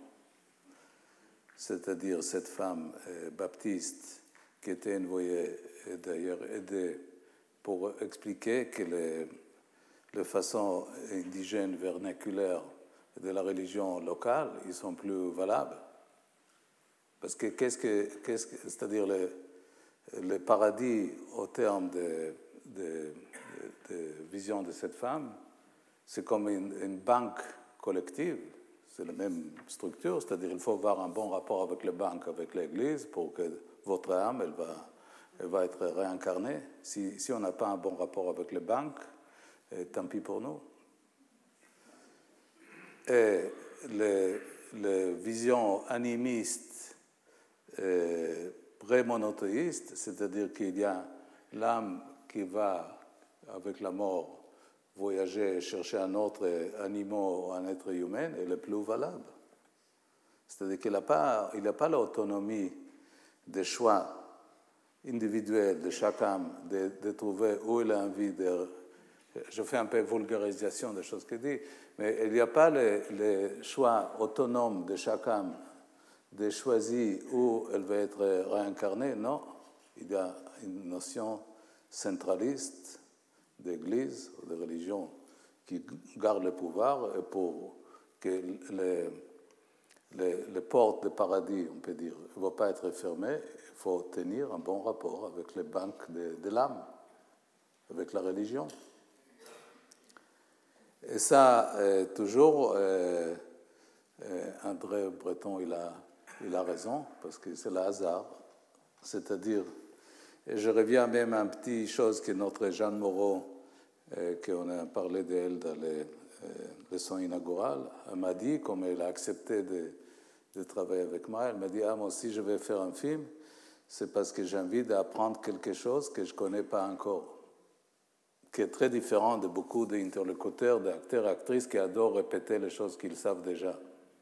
c'est-à-dire cette femme euh, baptiste qui était envoyée, et d'ailleurs aidée pour expliquer que les, les façons indigènes vernaculaires de la religion locale, ils sont plus valables. Parce que qu'est-ce que, qu'est-ce que c'est-à-dire le, le paradis au terme de, de, de, de vision de cette femme, c'est comme une, une banque collective, c'est la même structure, c'est-à-dire il faut avoir un bon rapport avec les banques, avec l'Église, pour que votre âme, elle va, elle va être réincarnée. Si, si on n'a pas un bon rapport avec les banques, eh, tant pis pour nous. Et les, les visions animistes, eh, pré-monothéistes, c'est-à-dire qu'il y a l'âme qui va, avec la mort, voyager et chercher un autre animal ou un être humain, elle est plus valable. C'est-à-dire qu'il n'a pas, il n'a pas l'autonomie des choix individuels de chaque âme, de, de trouver où il a envie de... Je fais un peu vulgarisation des choses qu'il dit, mais il n'y a pas les, les choix autonomes de chaque âme de choisir où elle va être réincarnée. Non, il y a une notion centraliste d'Église ou de religion qui garde le pouvoir et pour que les, les, les portes du paradis, on peut dire, ne vont pas être fermées, il faut tenir un bon rapport avec les banques de, de l'âme, avec la religion. Et ça, euh, toujours, euh, euh, André Breton, il a, il a raison, parce que c'est le hasard. C'est-à-dire, et je reviens même à une petite chose que notre Jeanne Moreau, euh, qu'on a parlé d'elle dans les euh, leçons inaugurales, elle m'a dit, comme elle a accepté de, de travailler avec moi, elle m'a dit, ah, moi aussi je vais faire un film, c'est parce que j'ai envie d'apprendre quelque chose que je ne connais pas encore, qui est très différent de beaucoup d'interlocuteurs, d'acteurs et actrices qui adorent répéter les choses qu'ils savent déjà.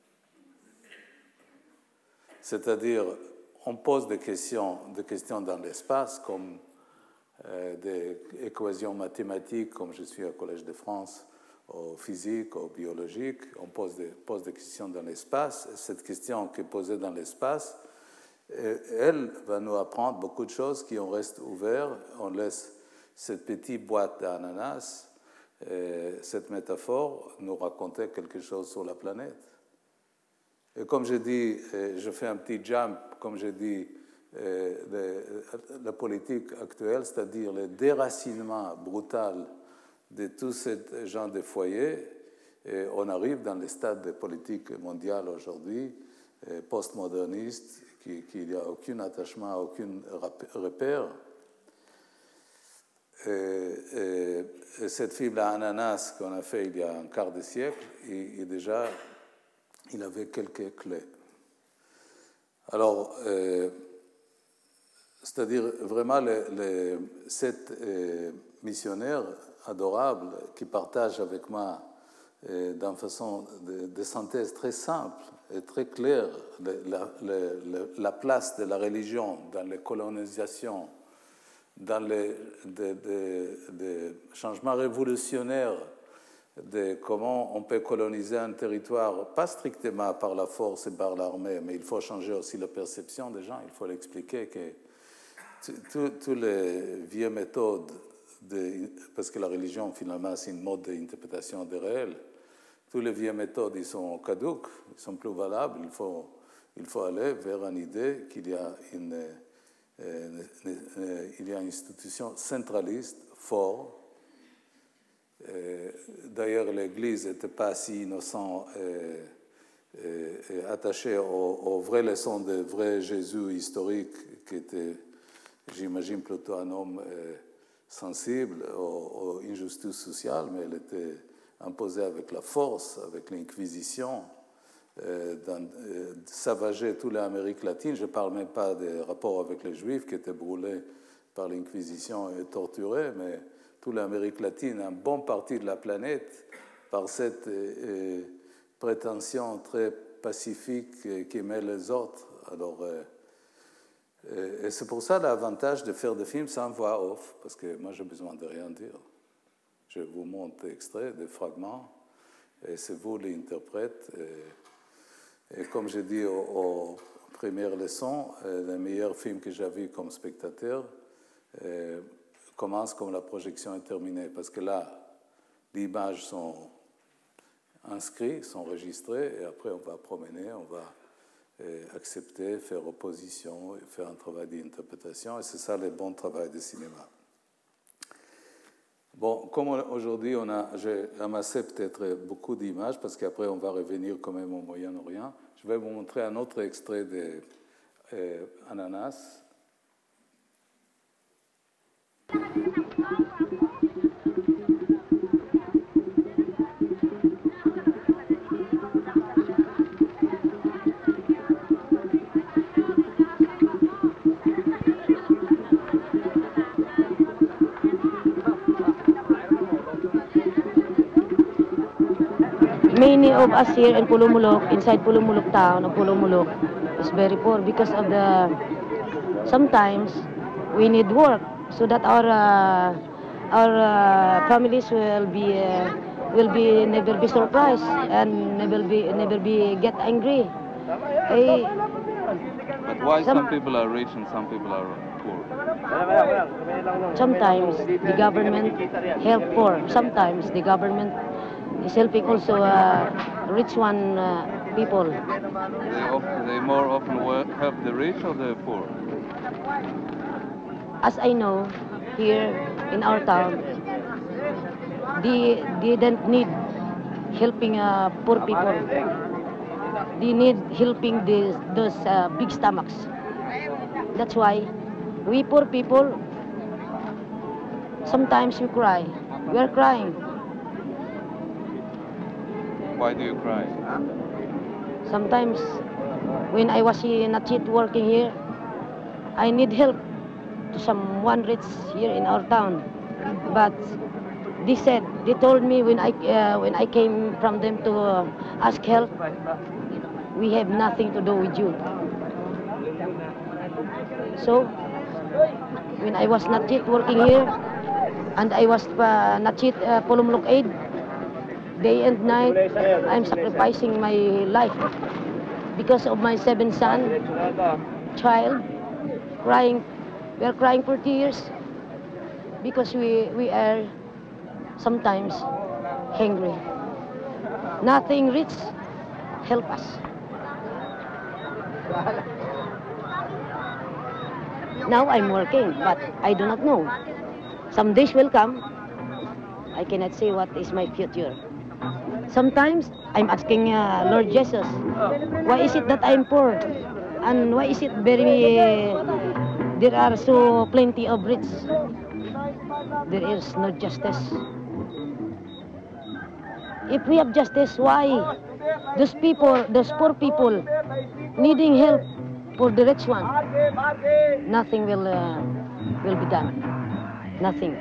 C'est-à-dire, on pose des questions, des questions dans l'espace, comme euh, des équations mathématiques, comme je suis au Collège de France, au physique, au biologique. On pose des, pose des questions dans l'espace. Et cette question qui est posée dans l'espace, elle va nous apprendre beaucoup de choses qui on reste ouverts. On laisse cette petite boîte d'ananas, cette métaphore, nous raconter quelque chose sur la planète. Et comme je dis, je fais un petit jump, comme je dis, la politique actuelle, c'est-à-dire le déracinement brutal de tout ce genre de foyers, et on arrive dans le stade de politique mondiale aujourd'hui, postmoderniste, qui, qui n'y a aucun attachement, aucun repère. Et, et, et cette fibre à ananas qu'on a fait il y a un quart de siècle, et, et déjà, il avait quelques clés. Alors, euh, c'est-à-dire vraiment les, les sept euh, missionnaires adorables qui partagent avec moi euh, d'une façon de, de synthèse très simple et très claire la, la, la, la place de la religion dans les colonisations, dans les de, de, de changements révolutionnaires de comment on peut coloniser un territoire, pas strictement par la force et par l'armée, mais il faut changer aussi la perception des gens. Il faut l'expliquer que toutes les vieilles méthodes, de, parce que la religion, finalement, c'est une mode d'interprétation des réels, toutes les vieilles méthodes, ils sont caduques, ils sont plus valables. Il faut, il faut aller vers une idée qu'il y a une, euh, il y a une institution centraliste, forte. D'ailleurs, l'Église n'était pas si innocente et, et, et attachée aux, aux vraies leçons de vrai Jésus historique, qui était, j'imagine, plutôt un homme euh, sensible aux, aux injustices sociales, mais elle était imposée avec la force, avec l'Inquisition, euh, euh, savager toute l'Amérique latine. Je ne parle même pas des rapports avec les Juifs qui étaient brûlés par l'Inquisition et torturés, mais toute l'Amérique latine, une bonne partie de la planète, par cette euh, prétention très pacifique euh, qui met les autres. Alors, euh, et c'est pour ça l'avantage de faire des films sans voix off, parce que moi, j'ai besoin de rien dire. Je vous montre des extraits, des fragments, et c'est vous l'interprète. Et, et comme j'ai dit aux, aux premières leçons, euh, le meilleur film que j'ai vu comme spectateur, euh, commence comme la projection est terminée, parce que là, les images sont inscrites, sont enregistrées, et après on va promener, on va euh, accepter, faire opposition, faire un travail d'interprétation, et c'est ça le bon travail de cinéma. Bon, comme aujourd'hui, on a, j'ai amassé peut-être beaucoup d'images, parce qu'après, on va revenir quand même au Moyen-Orient. Je vais vous montrer un autre extrait de euh, Ananas. Many of us here in Pulumulok, inside Pulumulok town of Pulumulok, is very poor because of the, sometimes we need work so that our uh, our uh, families will be uh, will be never be surprised and never be never be get angry. Eh, But why some- some people are rich and some people are poor? Sometimes the government help poor. Sometimes the government is helping also uh, rich one uh, people. They, of, they more often wo- help the rich or the poor? As I know, here in our town, they, they don't need helping uh, poor people. They need helping these, those uh, big stomachs. That's why we poor people, sometimes we cry. We are crying. Why do you cry? Sometimes when I was here, not yet working here, I need help to someone rich here in our town. But they said, they told me when I uh, when I came from them to uh, ask help, we have nothing to do with you. So when I was not yet working here, and I was uh, not yet uh, Pulumulok aid, day and night, I'm sacrificing my life because of my seven son, child, crying. We are crying for tears because we, we are sometimes hungry. Nothing rich help us. Now I'm working, but I do not know. Some days will come. I cannot say what is my future. Sometimes I'm asking uh, Lord Jesus, why is it that I'm poor? And why is it very, uh, there are so plenty of rich? There is no justice. If we have justice, why those people, those poor people, needing help for the rich one, nothing will uh, will be done. Nothing.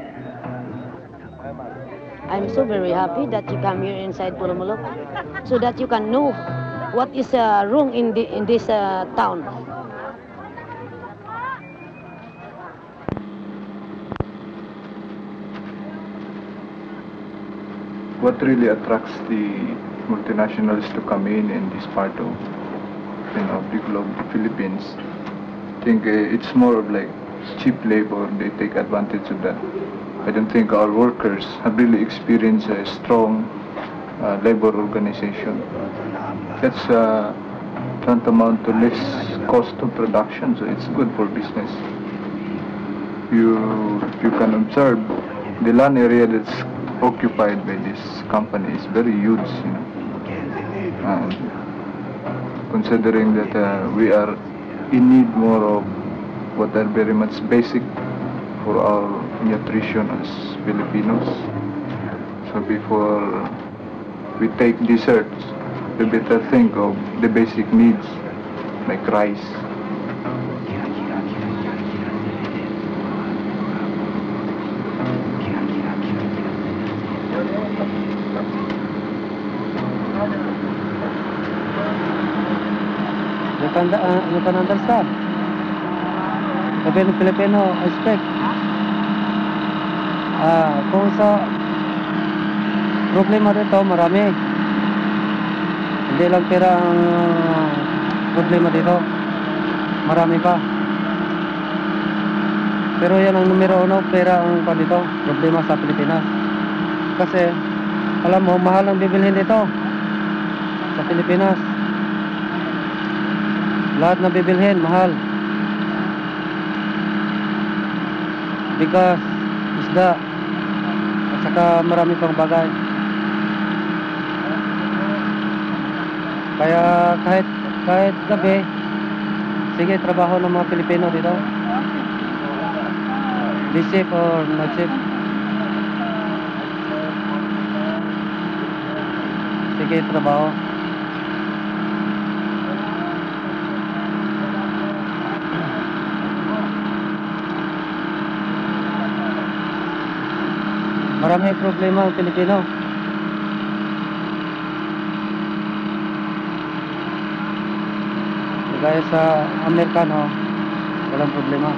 I'm so very happy that you come here inside Pulumulok, so that you can know what is uh, wrong in the in this uh, town. What really attracts the multinationals to come in in this part of, you know, the globe, the Philippines? I think uh, it's more of like cheap labor. They take advantage of that. I don't think our workers have really experienced a strong uh, labor organization. That's uh, tantamount to less cost of production, so it's good for business. You you can observe the land area that's occupied by this company is very huge, you know. And considering that uh, we are in need more of what are very much basic for our nutrition as Filipinos. So before we take desserts, we better think of the basic needs like rice. Natanda, uh, natanandarsa. Sabi ng Filipino, expect. Ah, kung sa problema dito, marami. Hindi lang pera ang problema dito. Marami pa. Pero yan ang numero uno, pera ang pa dito, problema sa Pilipinas. Kasi, alam mo, mahal ang bibilhin dito sa Pilipinas. Lahat na bibilhin, mahal. Because isda, Saka marami pang bagay. Kaya kahit kahit gabi, sige, trabaho ng mga Pilipino dito. Day shift or night shift. Sige, trabaho. Marami problema ang Pilipino. Gaya sa Amerikano, walang problema.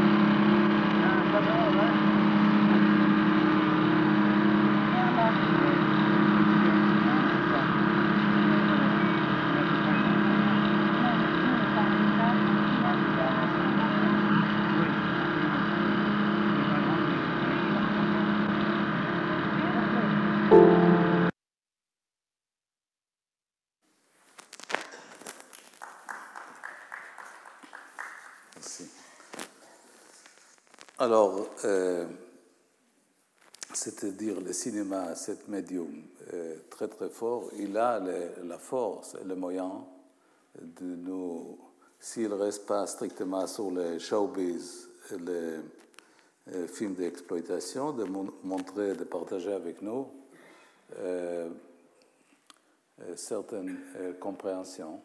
Alors, euh, c'est-à-dire le cinéma, cet médium euh, très très fort, il a les, la force et le moyen de nous, s'il ne reste pas strictement sur les showbiz, les euh, films d'exploitation, de mon montrer, de partager avec nous euh, euh, certaines euh, compréhensions.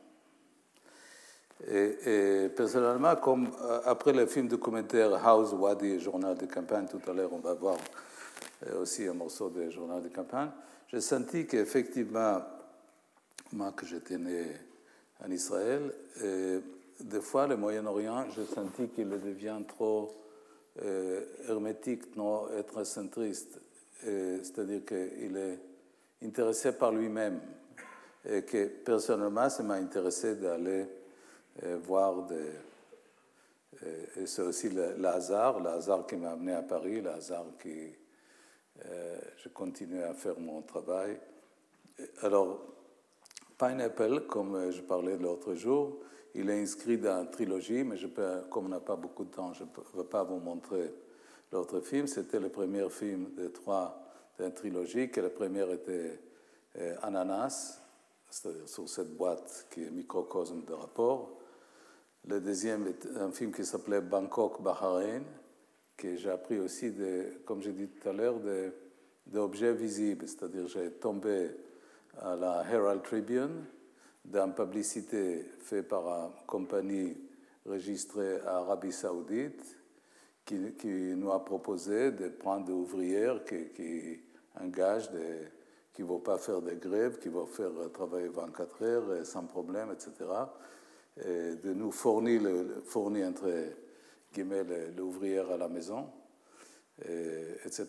Et, et personnellement, comme euh, après le film documentaire House Wadi, journal de campagne, tout à l'heure on va voir euh, aussi un morceau de journal de campagne, j'ai senti qu'effectivement, moi que j'étais né en Israël, et des fois le Moyen-Orient, j'ai senti qu'il devient trop euh, hermétique, non, être centriste, c'est-à-dire qu'il est intéressé par lui-même, et que personnellement, ça m'a intéressé d'aller Et voir des... Et c'est aussi le, le hasard, le hasard qui m'a amené à Paris, le hasard qui... Euh, je continue à faire mon travail. Alors, Pineapple, comme je parlais l'autre jour, il est inscrit dans une trilogie, mais je peux, comme on n'a pas beaucoup de temps, je ne vais pas vous montrer l'autre film. C'était le premier film de trois d'une trilogie, que le premier était euh, Ananas, c'est-à-dire sur cette boîte qui est microcosme de rapport. Le deuxième est un film qui s'appelait Bangkok, Bahreïn, que j'ai appris aussi, de, comme j'ai dit tout à l'heure, d'objets visibles. C'est-à-dire j'ai tombé à la Herald Tribune d'une publicité faite par une compagnie enregistrée à Arabie Saoudite qui, qui nous a proposé de prendre des ouvrières qui, qui engagent, des, qui ne vont pas faire de grève, qui vont faire travailler vingt-quatre heures sans problème, et cetera, et de nous fournir, le, fournir entre guillemets, l'ouvrière à la maison, et, etc.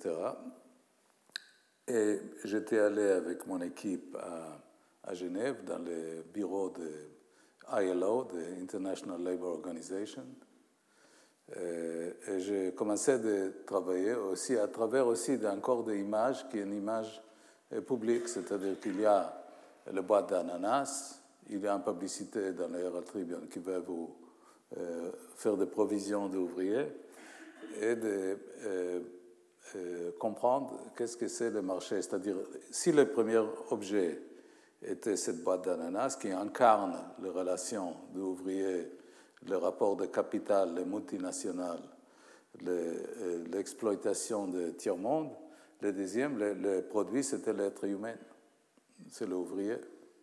Et j'étais allé avec mon équipe à, à Genève, dans le bureau de I L O, de International Labour Organization, et, et j'ai commencé à travailler aussi à travers aussi d'un corps d'images qui est une image publique, c'est-à-dire qu'il y a le boîte d'ananas, il y a une publicité dans le Herald Tribune qui va vous euh, faire des provisions d'ouvriers et de euh, euh, comprendre qu'est-ce que c'est le marché. C'est-à-dire, si le premier objet était cette boîte d'ananas qui incarne les relations d'ouvriers, le rapport de capital, les multinationales, l'exploitation de tiers-monde, le deuxième, le, le produit, c'était l'être humain, c'est l'ouvrier.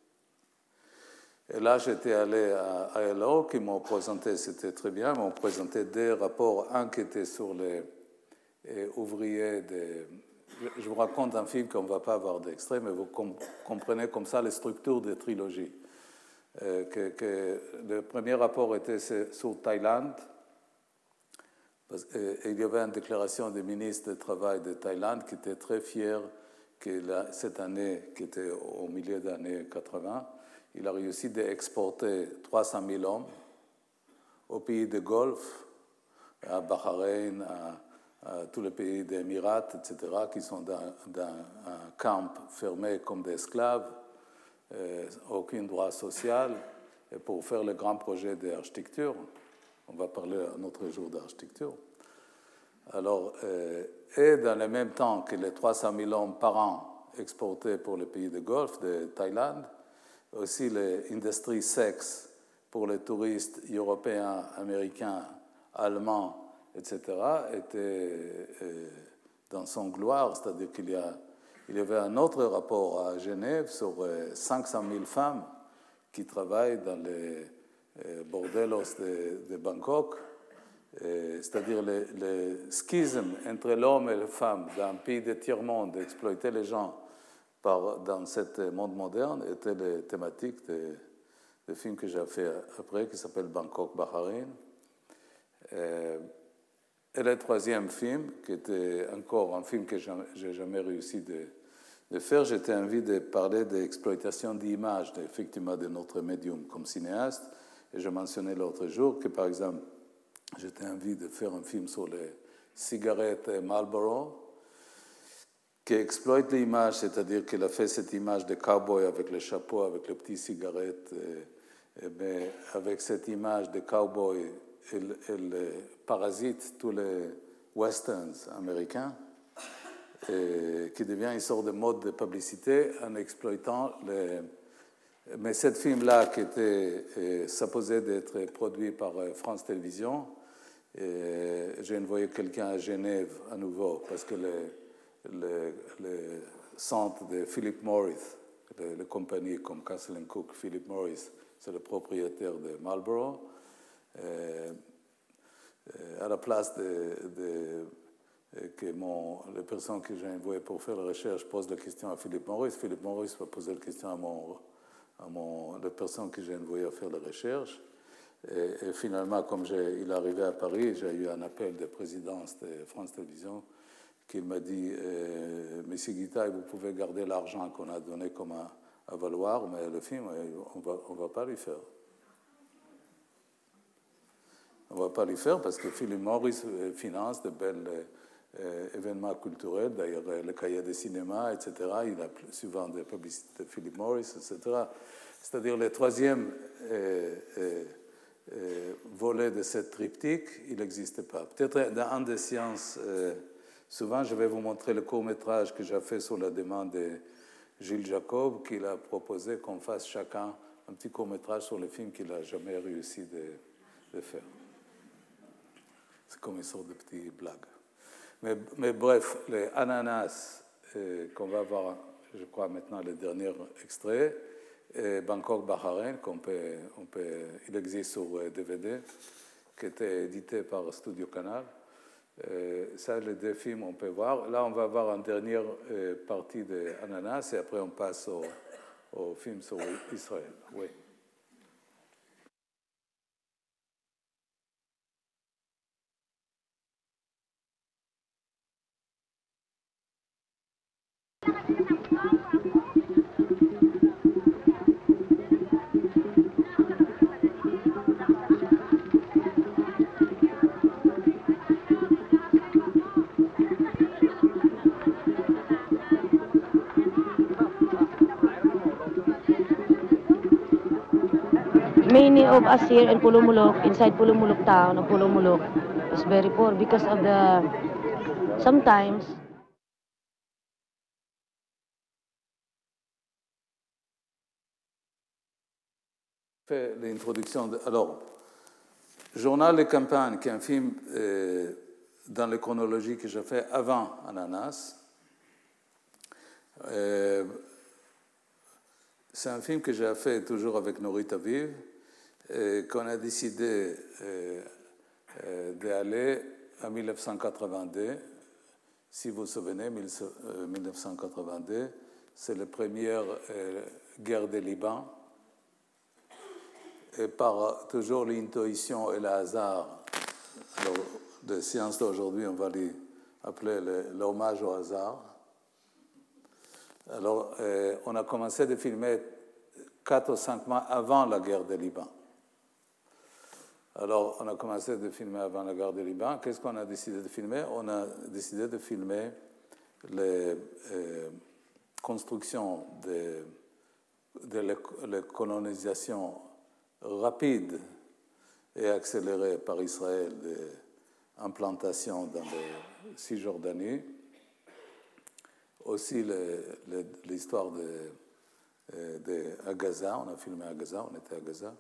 Et là, j'étais allé à I L O, qui m'ont présenté, c'était très bien, m'ont présenté des rapports, un qui était sur les eh, ouvriers. Des... Je vous raconte un film qu'on ne va pas avoir d'extrait, mais vous com comprenez comme ça les structures des trilogies. Euh, que, que le premier rapport était sur Thaïlande. Parce, et, et il y avait une déclaration du ministre du Travail de Thaïlande qui était très fier que la, cette année, qui était au milieu des années quatre-vingt, il a réussi d'exporter trois cent mille hommes aux pays du Golfe, à Bahreïn, à, à tous les pays des Émirats, et cetera, qui sont dans, dans un camp fermé comme des esclaves, euh, aucun droit social, et pour faire le grand projet d'architecture. On va parler un autre jour d'architecture. Alors, euh, et dans le même temps que les trois cent mille hommes par an exportés pour les pays du Golfe, de Thaïlande, aussi l'industrie sexe pour les touristes européens, américains, allemands, et cetera, était euh, dans son gloire, c'est-à-dire qu'il y, a, il y avait un autre rapport à Genève sur euh, cinq cent mille femmes qui travaillent dans les euh, bordellos de, de Bangkok, euh, c'est-à-dire le, le schisme entre l'homme et la femme dans un pays de tiers-monde, d'exploiter les gens par, dans ce monde moderne, était la thématique de, de film que j'ai fait après, qui s'appelle Bangkok Bahrain. Euh, Et le troisième film, qui était encore un film que je n'ai jamais réussi de, de faire, j'étais envie de parler de l'exploitation d'images, effectivement, de notre médium comme cinéaste. Et je mentionnais l'autre jour que, par exemple, j'étais envie de faire un film sur les cigarettes Marlboro, qui exploite l'image, c'est-à-dire qu'il a fait cette image de cowboy avec le chapeau, avec les petites cigarettes, et, et bien, avec cette image de cowboy, Elle, elle parasite tous les westerns américains, et qui devient une sorte de mode de publicité en exploitant les... Mais ce film-là, qui était euh, supposé d'être produit par euh, France Télévisions, j'ai envoyé quelqu'un à Genève à nouveau, parce que le, le, le centre de Philip Morris, les, les compagnies comme Castle and Cooke, Philip Morris, c'est le propriétaire de Marlboro. Euh, euh, à la place de, de, de que mon, les personnes que j'ai envoyées pour faire la recherche posent la question à Philip Morris, Philip Morris va poser la question à, mon, à mon, les personnes que j'ai envoyées à faire la recherche. Et, et finalement, comme il est arrivé à Paris, j'ai eu un appel de présidence de France Télévisions qui m'a dit euh, « Monsieur Guitaille, vous pouvez garder l'argent qu'on a donné comme à, à valoir, mais le film, on va, on va pas lui faire. » On ne va pas le faire parce que Philip Morris finance de bels euh, événements culturels, d'ailleurs le cahier de cinéma, et cetera. Il a souvent des publicités de Philip Morris, et cetera. C'est-à-dire le troisième euh, euh, euh, volet de cette triptyque, il n'existe pas. Peut-être dans un des sciences, euh, souvent je vais vous montrer le court-métrage que j'ai fait sur la demande de Gilles Jacob, qu'il a proposé qu'on fasse chacun un petit court-métrage sur le film qu'il n'a jamais réussi de, de faire. C'est comme une sorte de petite blague. Mais, mais bref, les ananas, euh, qu'on va voir, je crois maintenant le dernier extrait, et Bangkok Bahrain, qu'on peut, on peut, il existe sur D V D, qui était édité par Studio Canal. Euh, ça, les deux films, on peut voir. Là, on va voir une dernière euh, partie de Ananas, et après on passe au, au film sur Israël. Oui. Many of us here in Pulumulok, inside Pulumulok town of Pulumulok, is very poor because of the, sometimes, fait l'introduction. De, alors, Journal de campagne, qui est un film euh, dans la chronologie que j'ai fait avant Ananas. Euh, c'est un film que j'ai fait toujours avec Norit Aviv, et qu'on a décidé euh, euh, d'aller en dix-neuf cent quatre-vingt-deux. Si vous vous souvenez, dix-neuf cent quatre-vingt-deux, c'est la première euh, guerre du Liban. Et par toujours l'intuition et le hasard, alors, de sciences d'aujourd'hui, on va les appeler l'hommage au hasard. Alors, euh, on a commencé de filmer quatre ou cinq mois avant la guerre du Liban. Alors, on a commencé de filmer avant la guerre du Liban. Qu'est-ce qu'on a décidé de filmer? On a décidé de filmer les euh, constructions de, de la colonisation rapide et accélérée par Israël de, implantations dans la Cisjordanie. Aussi le, le, l'histoire de, de à Gaza, on a filmé à Gaza, on était à Gaza.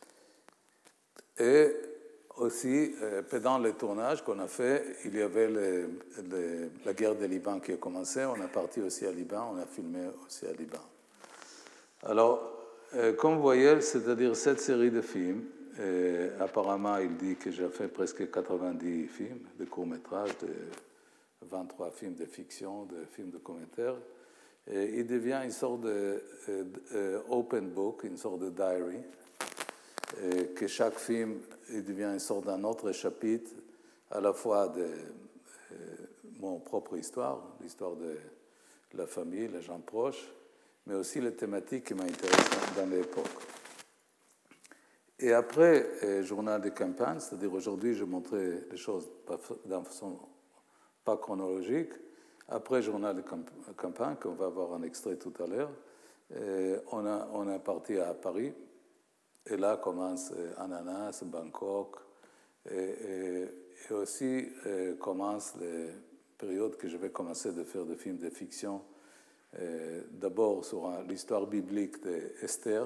Et aussi, pendant le tournage qu'on a fait, il y avait le, le, la guerre du Liban qui a commencé, on est parti aussi à Liban, on a filmé aussi à Liban. Alors, comme vous voyez, c'est-à-dire cette série de films, et apparemment, il dit que j'ai fait presque quatre-vingt-dix films, de courts-métrages, de vingt-trois films de fiction, de films de commentaires. Et il devient une sorte de, de, de open book, une sorte de diary, et que chaque film il devient une sorte d'un autre chapitre, à la fois de euh, mon propre histoire, l'histoire de la famille, les gens proches, mais aussi les thématiques qui m'intéressent dans l'époque. Et après, euh, journal de campagne, c'est-à-dire aujourd'hui, je montrais les choses d'une façon pas chronologique. Après, journal de campagne, qu'on va voir un extrait tout à l'heure, euh, on, a, on est parti à Paris. Et là commence euh, Ananas, Bangkok, et, et, et aussi euh, commence les périodes que je vais commencer de faire des films de fiction. Euh, d'abord sur un, l'histoire biblique d'Esther,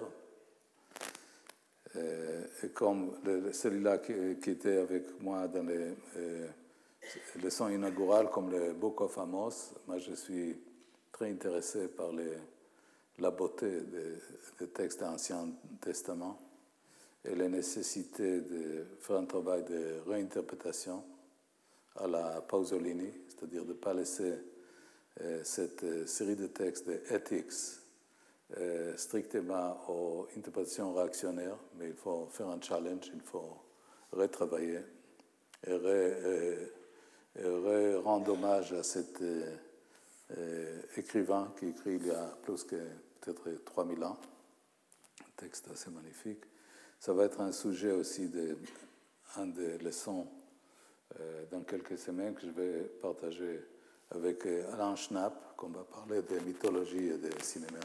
euh, et comme le, celui-là qui, qui était avec moi dans les euh, leçons inaugurales, comme le Book of Amos. Moi, je suis très intéressé par les, la beauté des, des textes de l'Ancien Testament et la nécessité de faire un travail de réinterprétation à la Pasolini, c'est-à-dire de ne pas laisser euh, cette euh, série de textes de ethics euh, strictement aux interprétations réactionnaires, mais il faut faire un challenge, il faut retravailler et, ré, euh, et ré rendre hommage à cet euh, euh, écrivain qui écrit il y a plus que peut-être trois mille ans, un texte assez magnifique. Ça va être un sujet aussi de un des leçons euh, dans quelques semaines que je vais partager avec Alain Schnapp, qu'on va parler de mythologie et de cinéma.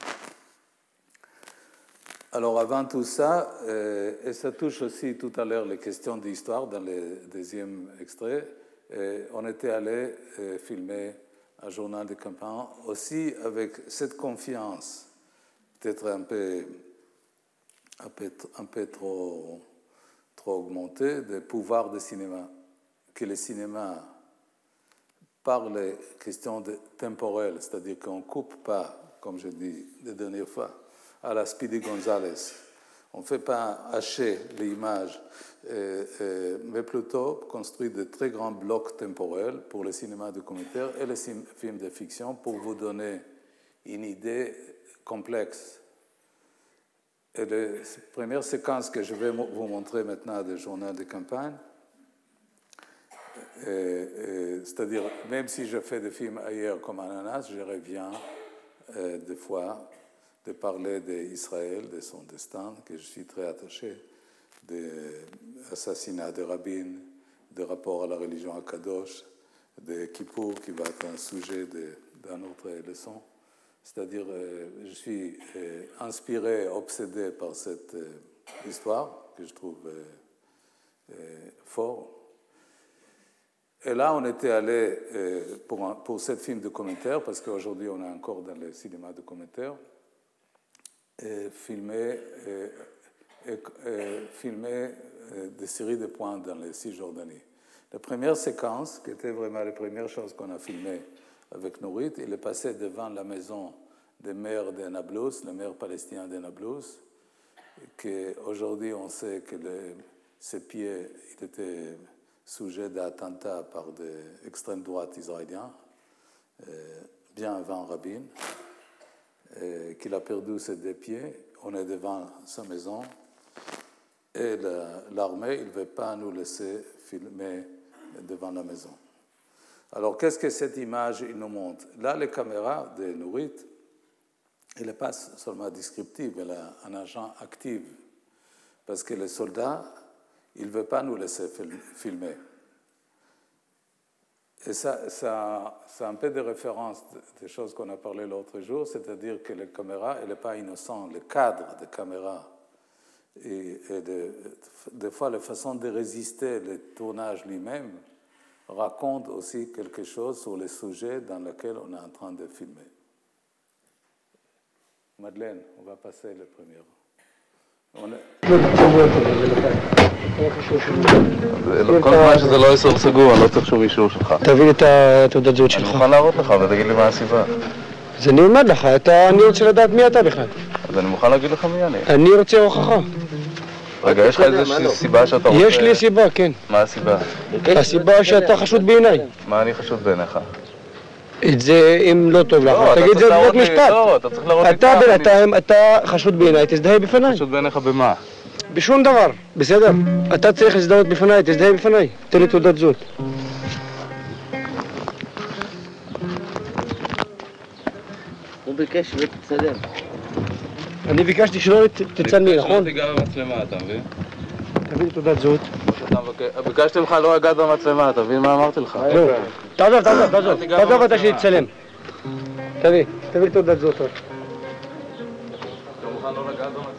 Alors avant tout ça, euh, et ça touche aussi tout à l'heure les questions d'histoire dans le deuxième extrait, et on était allé euh, filmer un journal de campagne aussi avec cette confiance, peut-être un peu un peu, un peu trop, trop augmenté, des pouvoirs du cinéma. Que le cinéma parle des questions de, temporelles, c'est-à-dire qu'on ne coupe pas, comme je dis la dernière fois, à la Speedy Gonzales. On ne fait pas hacher l'image, euh, euh, mais plutôt construire de très grands blocs temporels pour le cinéma documentaire et les films de fiction pour vous donner une idée complexe. Et la première séquence que je vais vous montrer maintenant du journal de campagne, et, et, c'est-à-dire, même si je fais des films ailleurs comme Ananas, je reviens euh, des fois de parler d'Israël, de son destin, que je suis très attaché, des assassinats de Rabin, des rapports à la religion à Kadosh, de Kippour, qui va être un sujet d'une autre leçon. C'est-à-dire, euh, je suis euh, inspiré, obsédé par cette euh, histoire que je trouve euh, euh, fort. Et là, on était allé euh, pour, un, pour ce film de commentaire, parce qu'aujourd'hui, on est encore dans le cinéma de commentaire, et filmer, et, et, et filmer euh, des séries de points dans les Cisjordanie. La première séquence, qui était vraiment la première chose qu'on a filmée avec Nourit, il est passé devant la maison des maires de Nablus, le maire palestinien de Nablus, qu'aujourd'hui on sait que le, ses pieds il était sujet d'attentats par des extrêmes droites israéliens, euh, bien avant Rabin, euh, qu'il a perdu ses deux pieds. On est devant sa maison et la, l'armée il ne veut pas nous laisser filmer devant la maison. Alors, qu'est-ce que cette image il nous montre? Là, les caméras de Nourit, elle n'est pas seulement descriptive, elle a un agent actif. Parce que les soldats, ils ne veulent pas nous laisser filmer. Et ça, ça, c'est un peu de référence des choses qu'on a parlé l'autre jour, c'est-à-dire que les caméras, elle n'est pas innocente. Le cadre des caméras et, et de, des fois, la façon de résister le tournage lui-même, raconte aussi quelque chose sur le sujet dans lequel on est en train de filmer. Madeleine, on va passer le premier. On est... כל זמן שזה לא איסור סגור, אני לא צריך שום אישור שלך. תביא לי את התעודת זהות שלך. אני מוכן להראות לך ותגיד לי מה הסיבה. אז אני אלמד לך, אני רוצה לדעת מי אתה בכלל. אז אני מוכן להגיד לך מי אני. אני רוצה הוכחה. רגע, יש לך איזושהי סיבה שאתה רוצה... יש לי סיבה, כן. מה הסיבה? הסיבה שאתה חשוד בעיניי. מה אני חשוד בעיניך? את זה אם לא טוב לך, תגיד את זה בבית משפט. לא, אתה צריך להראות לי אתה בינתיים, אתה חשוד בעיניי, תזדהה בפניי. חשוד בעיניך במה? בשום דבר, בסדר? אתה צריך להזדהות בפניי, תזדהה בפניי. תן לי תעודת זהות. הוא ביקש ותצלם. אני ביקשתי שלא תצלמי, נכון? שלא תיגע במצלמה, אתה מבין? תביא לי תעודת זהות. ביקשתי ממך לא לגעת במצלמה, אתה מבין מה אמרתי לך? לא, תעזוב, תעזוב, תעזוב. תעזוב אתה שיצלם. תביא, תביא לי תעודת זהות. אתה מוכן לא לגעת במצלמה?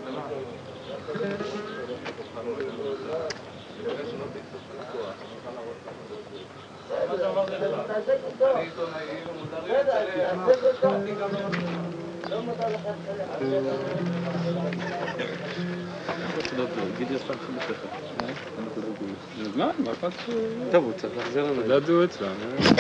מה? מה אכפת? טוב, הוא צריך להחזיר לנו. תעודת זהות אצלם.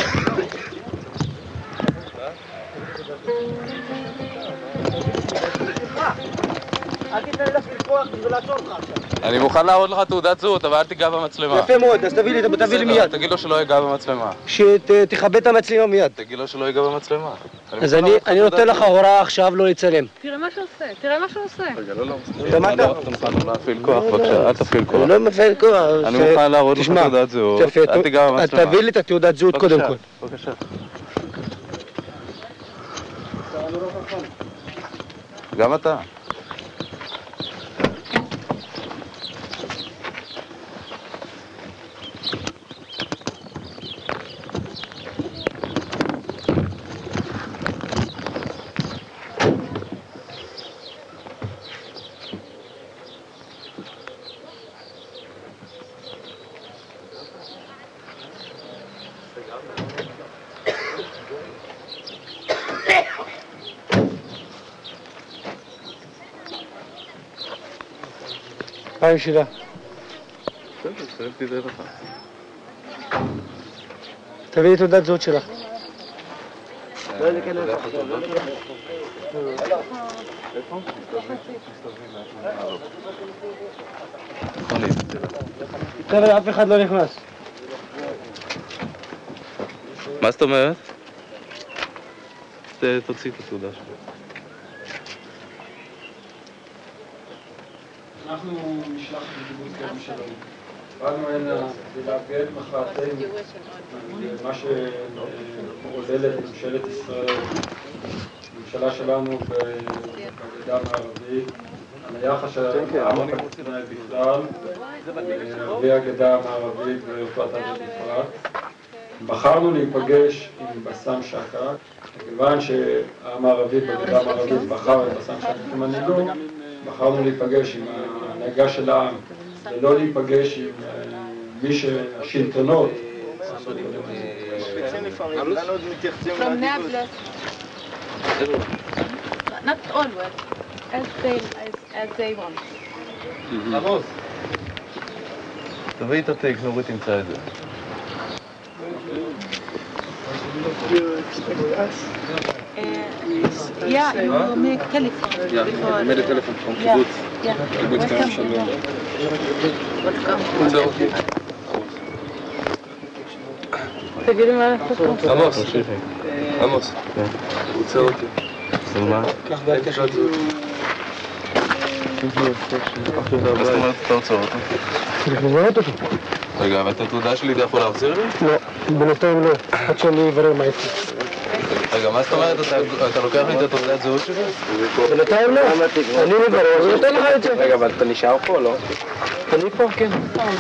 אל תיתן לי לפרוח ולעצור לך עכשיו. אני מוכן להראות לך תעודת זהות, אבל אל תיגע במצלמה. יפה מאוד, אז תביא לי, תביא לי מיד. תגיד לו שלא ייגע במצלמה. שתכבד את המצלמה מיד. תגיד לו שלא ייגע במצלמה. אז אני נותן לך הוראה עכשיו לא לצלם. תראה מה שהוא עושה, תראה מה שהוא עושה. רגע, לא, לא. אתה מוכן לא להפעיל כוח, בבקשה, אל תפעיל כוח. הוא לא מפעיל כוח. אני מוכן להראות לך תעודת זהות, אל תיגע במצלמה. תביא לי את התעודת זהות קודם כל. בבקשה. גם אתה. פעם שאלה. בסדר, בסדר, תדע לך. תביא לי תעודת זהות שלך. חבר'ה, אף אחד לא נכנס. מה זאת אומרת? תוציא את התעודה שלך. אנחנו נשלח בקיבוץ גלבוע שלום. באנו הנה להביע את מחאתנו למה שמעודדת ממשלת ישראל, הממשלה שלנו בגדה המערבית, על היחס של העם הפלסטיני בכלל והגדה המערבית ורצועת עזה בפרט. בחרנו להיפגש עם בסם שקה, מכיוון שהעם הערבי בגדה המערבית בחר את בסם שקה כמנהיגו, בחרנו להיפגש עם ההנהגה של העם, ולא להיפגש עם מי שהשלטונות. From Nablus. Not always, as they, as, as they want. עמוס. תביא את הטקסט, נורית תמצא את זה. Yeah, you make telephone. Yeah, I made a telephone from kibbutz. Yeah. Kibbutz Gam Shalom. תגידי מה לעשות פה. עמוס, עמוס, הוא עוצר אותי. של מה? קח בעיה של זאת. מה זאת אומרת אתה עוצר אותו? צריך לבנות אותו. רגע, אבל את התעודה שלי אתה יכול להחזיר לי? לא, בינתיים לא, עד שאני אברר מה איפה. רגע, מה זאת אומרת? אתה לוקח לי את התעודת זהות שלי? בינתיים לא, אני מברר ונותן לך את זה. רגע, אבל אתה נשאר פה או לא? אני פה, כן.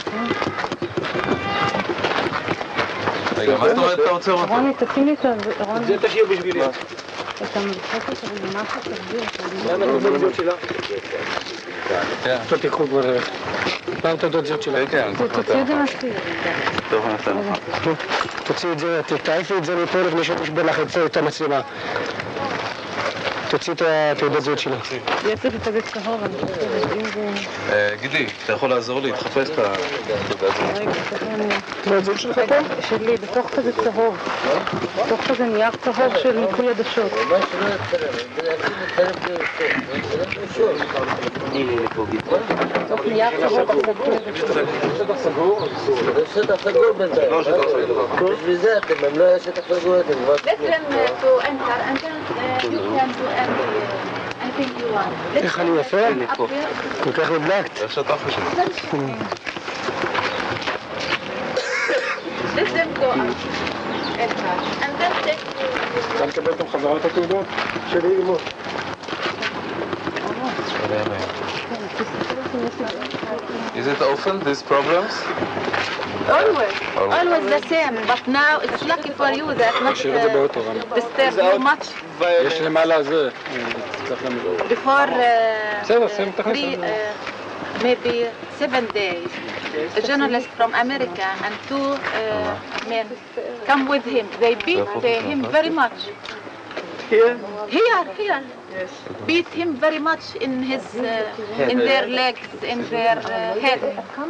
רגע, מה זאת אומרת אתה עוצר אותו? רוני, תשים לי את ה... רוני, זה תשאיר בשבילי. אתה מבחק את זה במשהו, תסביר. מה עם התעודת זהות שלה? אתה תיקחו כבר... פעם את הדודות שלך. כן, כן. תוציאו את זה מהספירה. טוב, אני אעשה לך. תוציאו את זה, תעיפי את זה מפה לפני שנשבר לך את המצלמה. תוציא את התעודת זהות שלך. יש את זה צהוב, אני חושבת, אם זה... גידי, אתה יכול לעזור לי? תחפש את התעודת זהות. רגע, תכף אני... תעודת זהות שלך פה? שלי, בתוך כזה צהוב. בתוך כזה נייר צהוב של מיפוי עדשות. בתוך נייר צהוב של מיפוי עדשות. שטח סגור? שטח סגור בינתיים. לא שטח סגור. בשביל זה אתם, הם לא היה שטח סגור, אתם כבר... Let them uh, to enter and then uh, you can do any, uh, anything you want. איך אני יפה? כל כך נדלקת. איך שאתה חושב. Let them go out, enter, and then take... אתה מקבל גם חזרה את התעודות שלי אימו. Is it often, these problems? Always, always the same, but now it's lucky for you that not uh, disturb you much. יש למעלה זה. Before uh, three, uh, maybe seven days, a journalist from America and two uh, men come with him. They beat uh, him very much. Here? Here, here. Yes. Beat him very much in his, uh, in their legs, in their uh, head.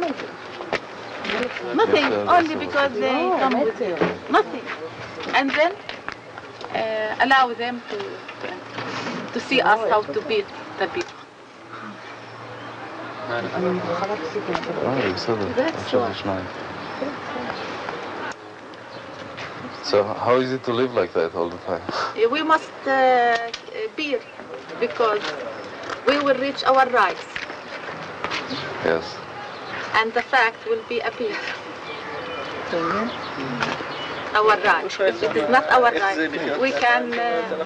Nothing, only because they come with him. Nothing. And then uh, allow them to to see us how to beat the people. That's all. So how is it to live like that all the time? We must uh, bear because we will reach our rights. Yes. And the fact will be appear. Our right. If it is not our right, we can uh,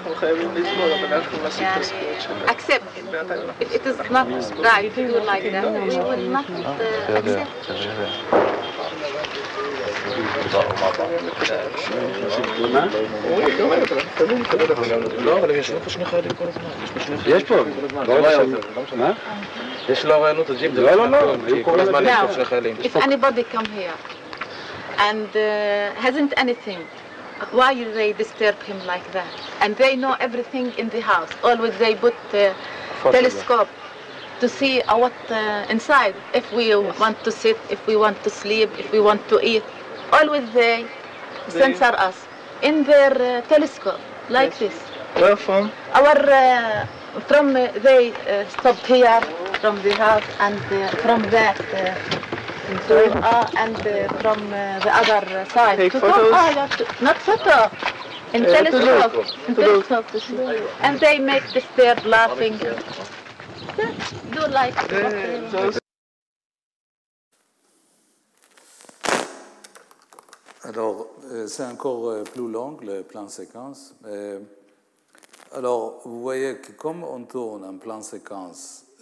uh, accept. If it is not right to do like that, we will not uh, accept. לא, אבל ישנו פה שני חיילים כל הזמן. יש פה. מה? יש לו רעיונות הג'יפ. לא, לא, לא. כל הזמן יש פה שני חיילים. If anybody come here and uh, hasn't anything, why they disturb him like that? And they know everything in the house. Always they put uh, telescope to see uh, what uh, inside. If we want to sit, if we want to sleep, if we want to eat, always they censor us in their uh, telescope like this. Where from? Our uh, from uh, they uh, stopped here from the house and uh, from that. Uh, So, uh, and uh, from uh, the other side. Take to photos? Come, oh, yeah, to, not photo. In Uh, telescope. to In to telescope to see. And they make this there laughing. Do like what they Alors, c'est encore plus long, le plan séquence. Alors, vous voyez que comme on tourne en plan séquence,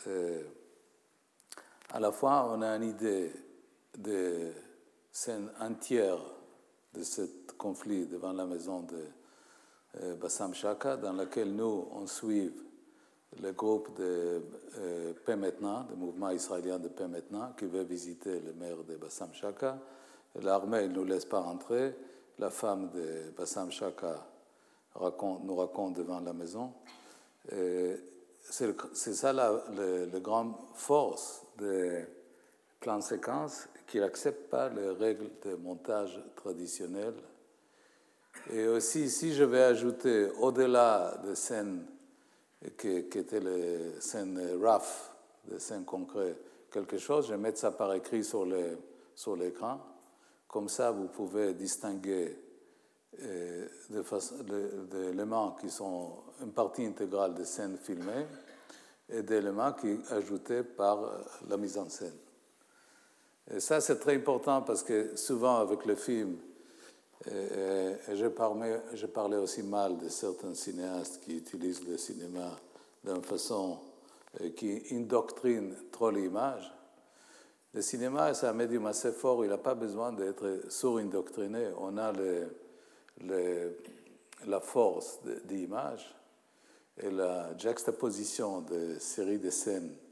à la fois on a une idée de scène entière de ce conflit devant la maison de Bassam Chaka, dans laquelle nous, on suit le groupe de euh, Paix Maintenant, le mouvement israélien de Paix Maintenant, qui veut visiter le maire de Bassam Chaka. L'armée ne nous laisse pas rentrer. La femme de Bassam Chaka raconte, nous raconte devant la maison. C'est, c'est ça la, la, la grande force des plans séquences, qui n'acceptent pas les règles de montage traditionnelles. Et aussi, si je vais ajouter, au-delà des scènes qui, qui étaient les scènes rough, des scènes concrètes, quelque chose, je vais mettre ça par écrit sur, les, sur l'écran. Comme ça, vous pouvez distinguer euh, de façon, de, des éléments qui sont une partie intégrale des scènes filmées et d'éléments qui sont ajoutés par la mise en scène. Et ça, c'est très important parce que souvent, avec le film, et, et je, parlais, je parlais aussi mal de certains cinéastes qui utilisent le cinéma d'une façon euh, qui indoctrine trop l'image. Le cinéma, c'est un médium assez fort, il n'a pas besoin d'être sur-indoctriné. On a le, le, la force d'image et la juxtaposition de séries de scènes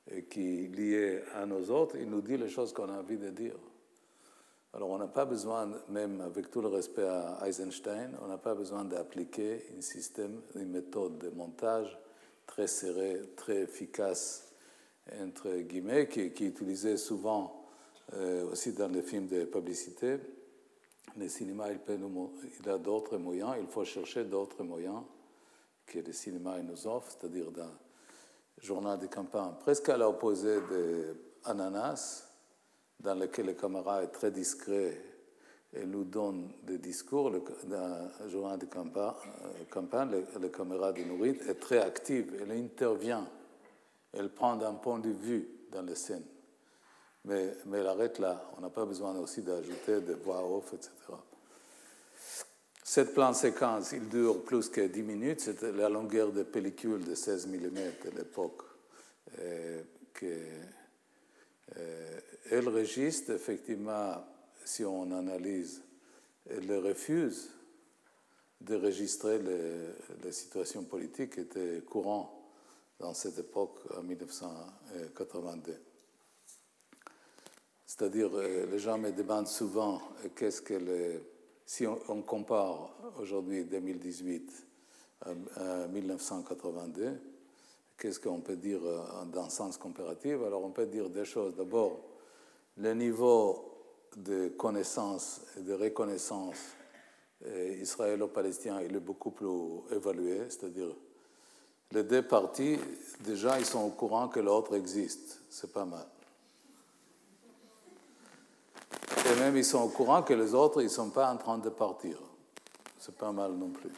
et qui est lié à nos autres, il nous dit les choses qu'on a envie de dire. Alors on n'a pas besoin, même avec tout le respect à Eisenstein, on n'a pas besoin d'appliquer un système, une méthode de montage très serrée, très efficace, entre guillemets, qui, qui est utilisée souvent euh, aussi dans les films de publicité. Le cinéma, il, peut nous, il a d'autres moyens, il faut chercher d'autres moyens que le cinéma nous offre, c'est-à-dire dans le journal de campagne, presque à l'opposé d'Ananas, dans lequel le caméra est très discret et nous donne des discours. Le, dans le journal de campagne, campagne le, le caméra de Nourit est très active, elle intervient, elle prend un point de vue dans les scènes. Mais, mais elle arrête là, on n'a pas besoin aussi d'ajouter des voix off, et cetera. Cette plan séquence, il dure plus que dix minutes, c'était la longueur de pellicule de seize millimètres à l'époque. Euh, que, euh, et le registre, effectivement, si on analyse, elle refuse de registrer les, les situations politiques qui étaient courantes dans cette époque, en dix-neuf cent quatre-vingt-deux. C'est-à-dire, les gens me demandent souvent qu'est-ce que les, si on, on compare aujourd'hui deux mille dix-huit à, à dix-neuf cent quatre-vingt-deux, qu'est-ce qu'on peut dire dans le sens comparatif? Alors, on peut dire deux choses. D'abord, le niveau de connaissance et de reconnaissance eh, israélo-palestinien il est beaucoup plus évalué, c'est-à-dire les deux parties, déjà, ils sont au courant que l'autre existe. C'est pas mal. Et même, ils sont au courant que les autres, ils ne sont pas en train de partir. C'est pas mal non plus.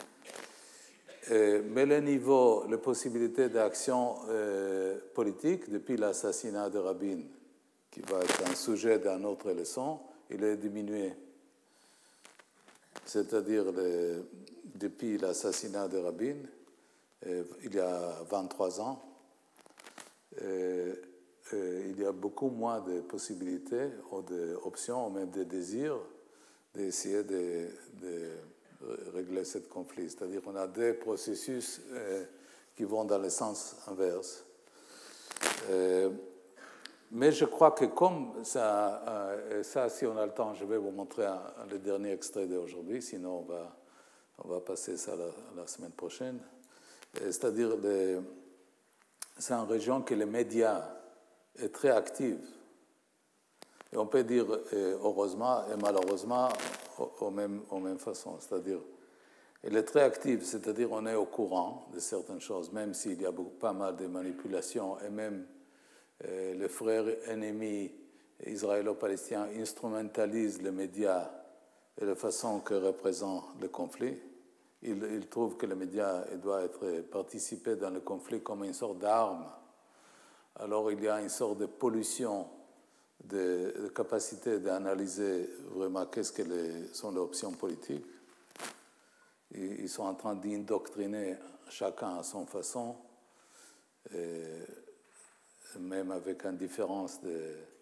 Et, mais le niveau, les possibilités d'action euh, politique, depuis l'assassinat de Rabin, qui va être un sujet d'une autre leçon, il est diminué. C'est-à-dire, le, depuis l'assassinat de Rabin, euh, il y a vingt-trois ans, euh, euh, il y a beaucoup moins de possibilités ou d'options, ou même de désirs, d'essayer de, de régler ce conflit. C'est-à-dire qu'on a des processus euh, qui vont dans le sens inverse. Euh, mais je crois que comme ça, euh, ça, si on a le temps, je vais vous montrer un, un, le dernier extrait d'aujourd'hui, sinon on va, on va passer ça la, la semaine prochaine. C'est-à-dire, les, c'est une région que les médias est très active. Et on peut dire heureusement et malheureusement aux mêmes, aux mêmes façons. C'est-à-dire, elle est très active, c'est-à-dire on est au courant de certaines choses, même s'il y a beaucoup, pas mal de manipulations, et même euh, les frères ennemis israélo-palestiniens instrumentalisent les médias et la façon que représente le conflit. Ils, ils trouvent que les médias doivent être participer dans le conflit comme une sorte d'arme. Alors il y a une sorte de pollution de, de capacité d'analyser vraiment qu'est-ce que les, sont les options politiques. Et ils sont en train d'indoctriner chacun à son façon, et même avec une différence de,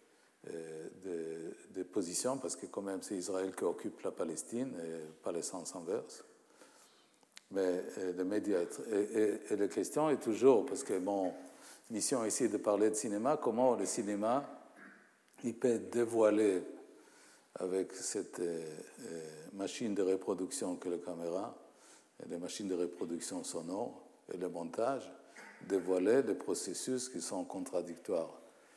de, de position, parce que quand même c'est Israël qui occupe la Palestine et pas le sens inverse. Mais les médias, et, et, et la question est toujours, parce que mon mission ici est de parler de cinéma, comment le cinéma il peut dévoiler avec cette euh, machine de reproduction que la caméra, et les machines de reproduction sonore et le montage, dévoiler des processus qui sont contradictoires.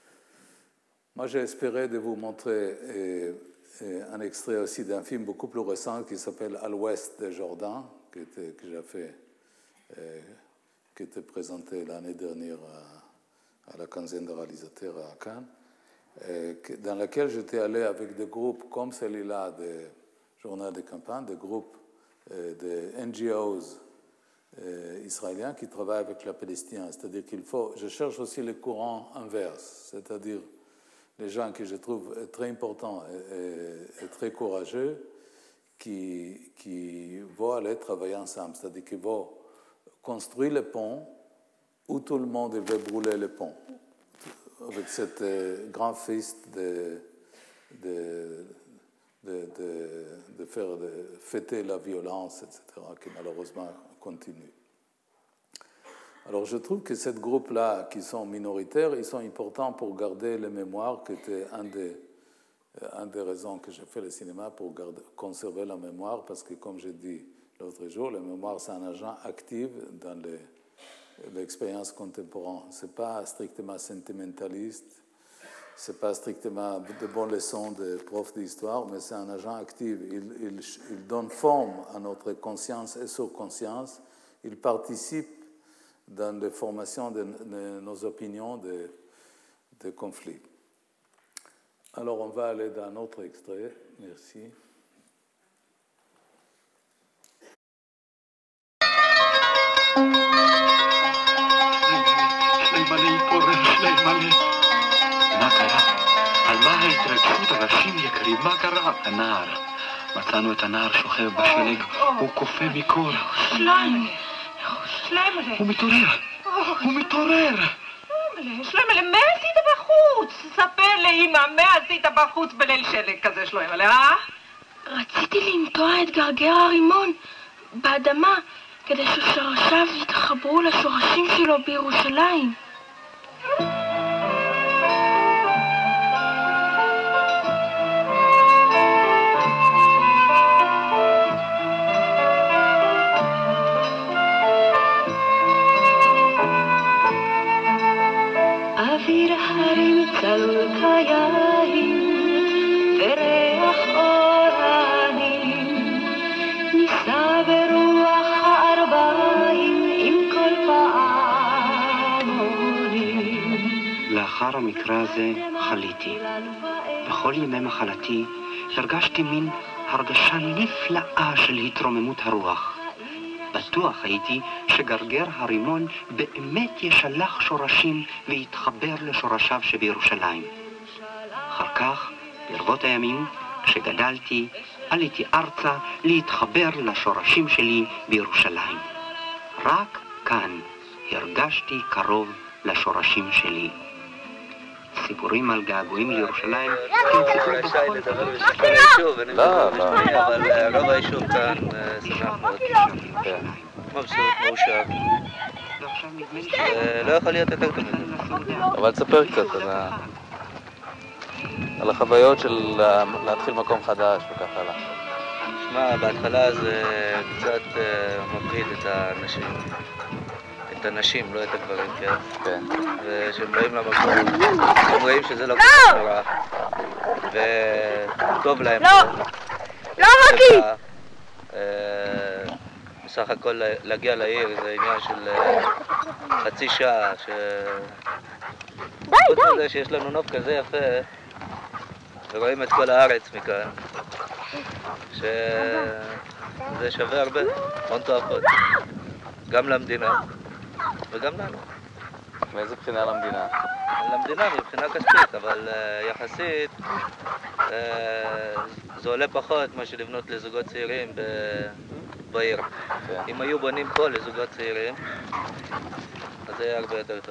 Moi, j'ai espéré de vous montrer et, et un extrait aussi d'un film beaucoup plus récent qui s'appelle « À l'ouest de Jordan », que, que j'ai fait, euh, qui était présenté l'année dernière à, à la quinzaine de réalisateurs à Cannes, euh, dans laquelle j'étais allé avec des groupes comme celui-là, des journaux de campagne, des groupes euh, de N G Os euh, israéliens qui travaillent avec la Palestine. C'est-à-dire qu'il faut... Je cherche aussi le courant inverse, c'est-à-dire les gens que je trouve très importants et, et, et très courageux, qui, qui vont aller travailler ensemble, c'est-à-dire qu'ils vont construire le pont où tout le monde veut brûler le pont, avec cette euh, grand fest de, de, de, de, de faire de fêter la violence, et cetera, qui malheureusement continue. Alors je trouve que ce groupe-là, qui sont minoritaires, ils sont importants pour garder les mémoires, qui était un des, un des raisons que j'ai fait le cinéma, pour garder, conserver la mémoire, parce que comme j'ai dit l'autre jour, la mémoire c'est un agent actif dans les, l'expérience contemporaine. Ce n'est pas strictement sentimentaliste, ce n'est pas strictement de bonnes leçons de profs d'histoire, mais c'est un agent actif. Il, il, il donne forme à notre conscience et subconscience. Il participe dans la formation de, de nos opinions de, de conflits. Alors, on va aller dans un autre extrait. Merci. מה קרה? על מה ההתרגשות, אנשים יקרים? מה קרה? הנער. מצאנו את הנער שוכב בשלג, הוא קופא מקור. שליימלה, שליימלה. הוא מתעורר, הוא מתעורר. שליימלה, מה עשית בחוץ? ספר לאמא, מה עשית בחוץ בליל שלג כזה, שליימלה, אה? רציתי לנטוע את גרגר הרימון באדמה, כדי ששורשיו יתחברו לשורשים שלו בירושלים. אוויר הרים צלול כיין וריח אורנים נישא ברוח הארבעים עם כל פעמונים. לאחר המקרה הזה חליתי. בכל ימי מחלתי הרגשתי מין הרגשה נפלאה של התרוממות הרוח. בטוח הייתי שגרגר הרימון באמת ישלח שורשים ויתחבר לשורשיו שבירושלים. אחר כך, ברבות הימים, כשגדלתי, עליתי ארצה להתחבר לשורשים שלי בירושלים. רק כאן הרגשתי קרוב לשורשים שלי. סיפורים על געגועים לירושלים תמצאו בכל... לא, לא. אבל רוב היישוב כאן שמח מאוד. מבסוט, מאושר. לא יכול להיות יותר טוב מזה. אבל תספר קצת על החוויות של להתחיל מקום חדש וכך הלאה. שמע, בהתחלה זה קצת מפחיד את האנשים. את הנשים, לא את הגברים, כן? כן. ושהם באים למקום, הם רואים שזה לא כל נורא. וטוב להם. לא! לא, רוקי! בסך הכל להגיע לעיר זה עניין של חצי שעה, ש... די, חוץ די! מזה שיש לנו נוף כזה יפה, ורואים את כל הארץ מכאן, שזה שווה הרבה, הון תועפות. גם למדינה. וגם לנו. מאיזה בחינה למדינה? למדינה מבחינה כספית, אבל uh, יחסית uh, זה עולה פחות מה שלבנות לזוגות צעירים ב... בעיר. Okay. אם היו בונים פה לזוגות צעירים, אז זה היה הרבה יותר טוב.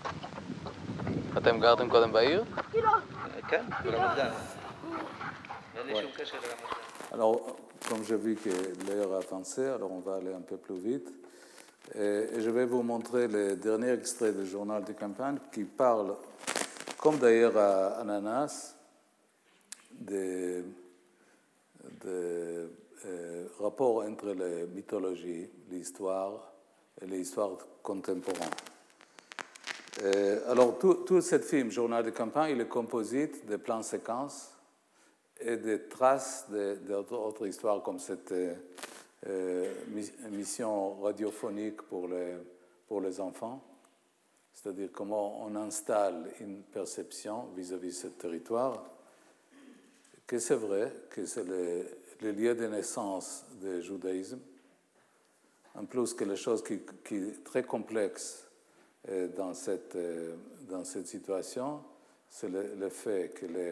אתם גרתם קודם בעיר? כן, ברמת גן. אין לי שום קשר לרמת גן. Alors, comme j'ai vu que l'heure a avancé, alors on va aller un peu plus vite. Et je vais vous montrer le dernier extrait du journal de campagne qui parle, comme d'ailleurs à Ananas, des, des euh, rapports entre les mythologies, l'histoire et l'histoire contemporaine. Et alors, tout, tout ce film, journal de campagne, il est composé de plans séquences et des traces d'autres histoires comme cette euh, émission radiophonique pour les, pour les enfants, c'est-à-dire comment on installe une perception vis-à-vis de ce territoire, que c'est vrai que c'est le, le lieu de naissance du judaïsme, en plus que les choses qui, qui est très complexe dans cette, dans cette situation, c'est le, le fait que les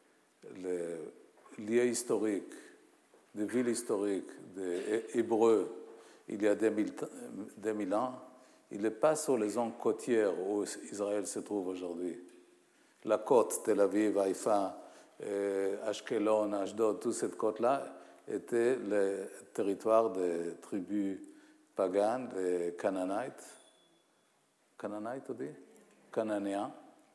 le lieu historique, de ville historique des Hébreux, il y a deux mille ans, il n'est pas sur les zones côtières où Israël se trouve aujourd'hui. La côte, Tel Aviv, Haïfa, Ashkelon, Ashdod, toute cette côte-là était le territoire des tribus paganes, des Canaanites, cananéens, dit cananéens.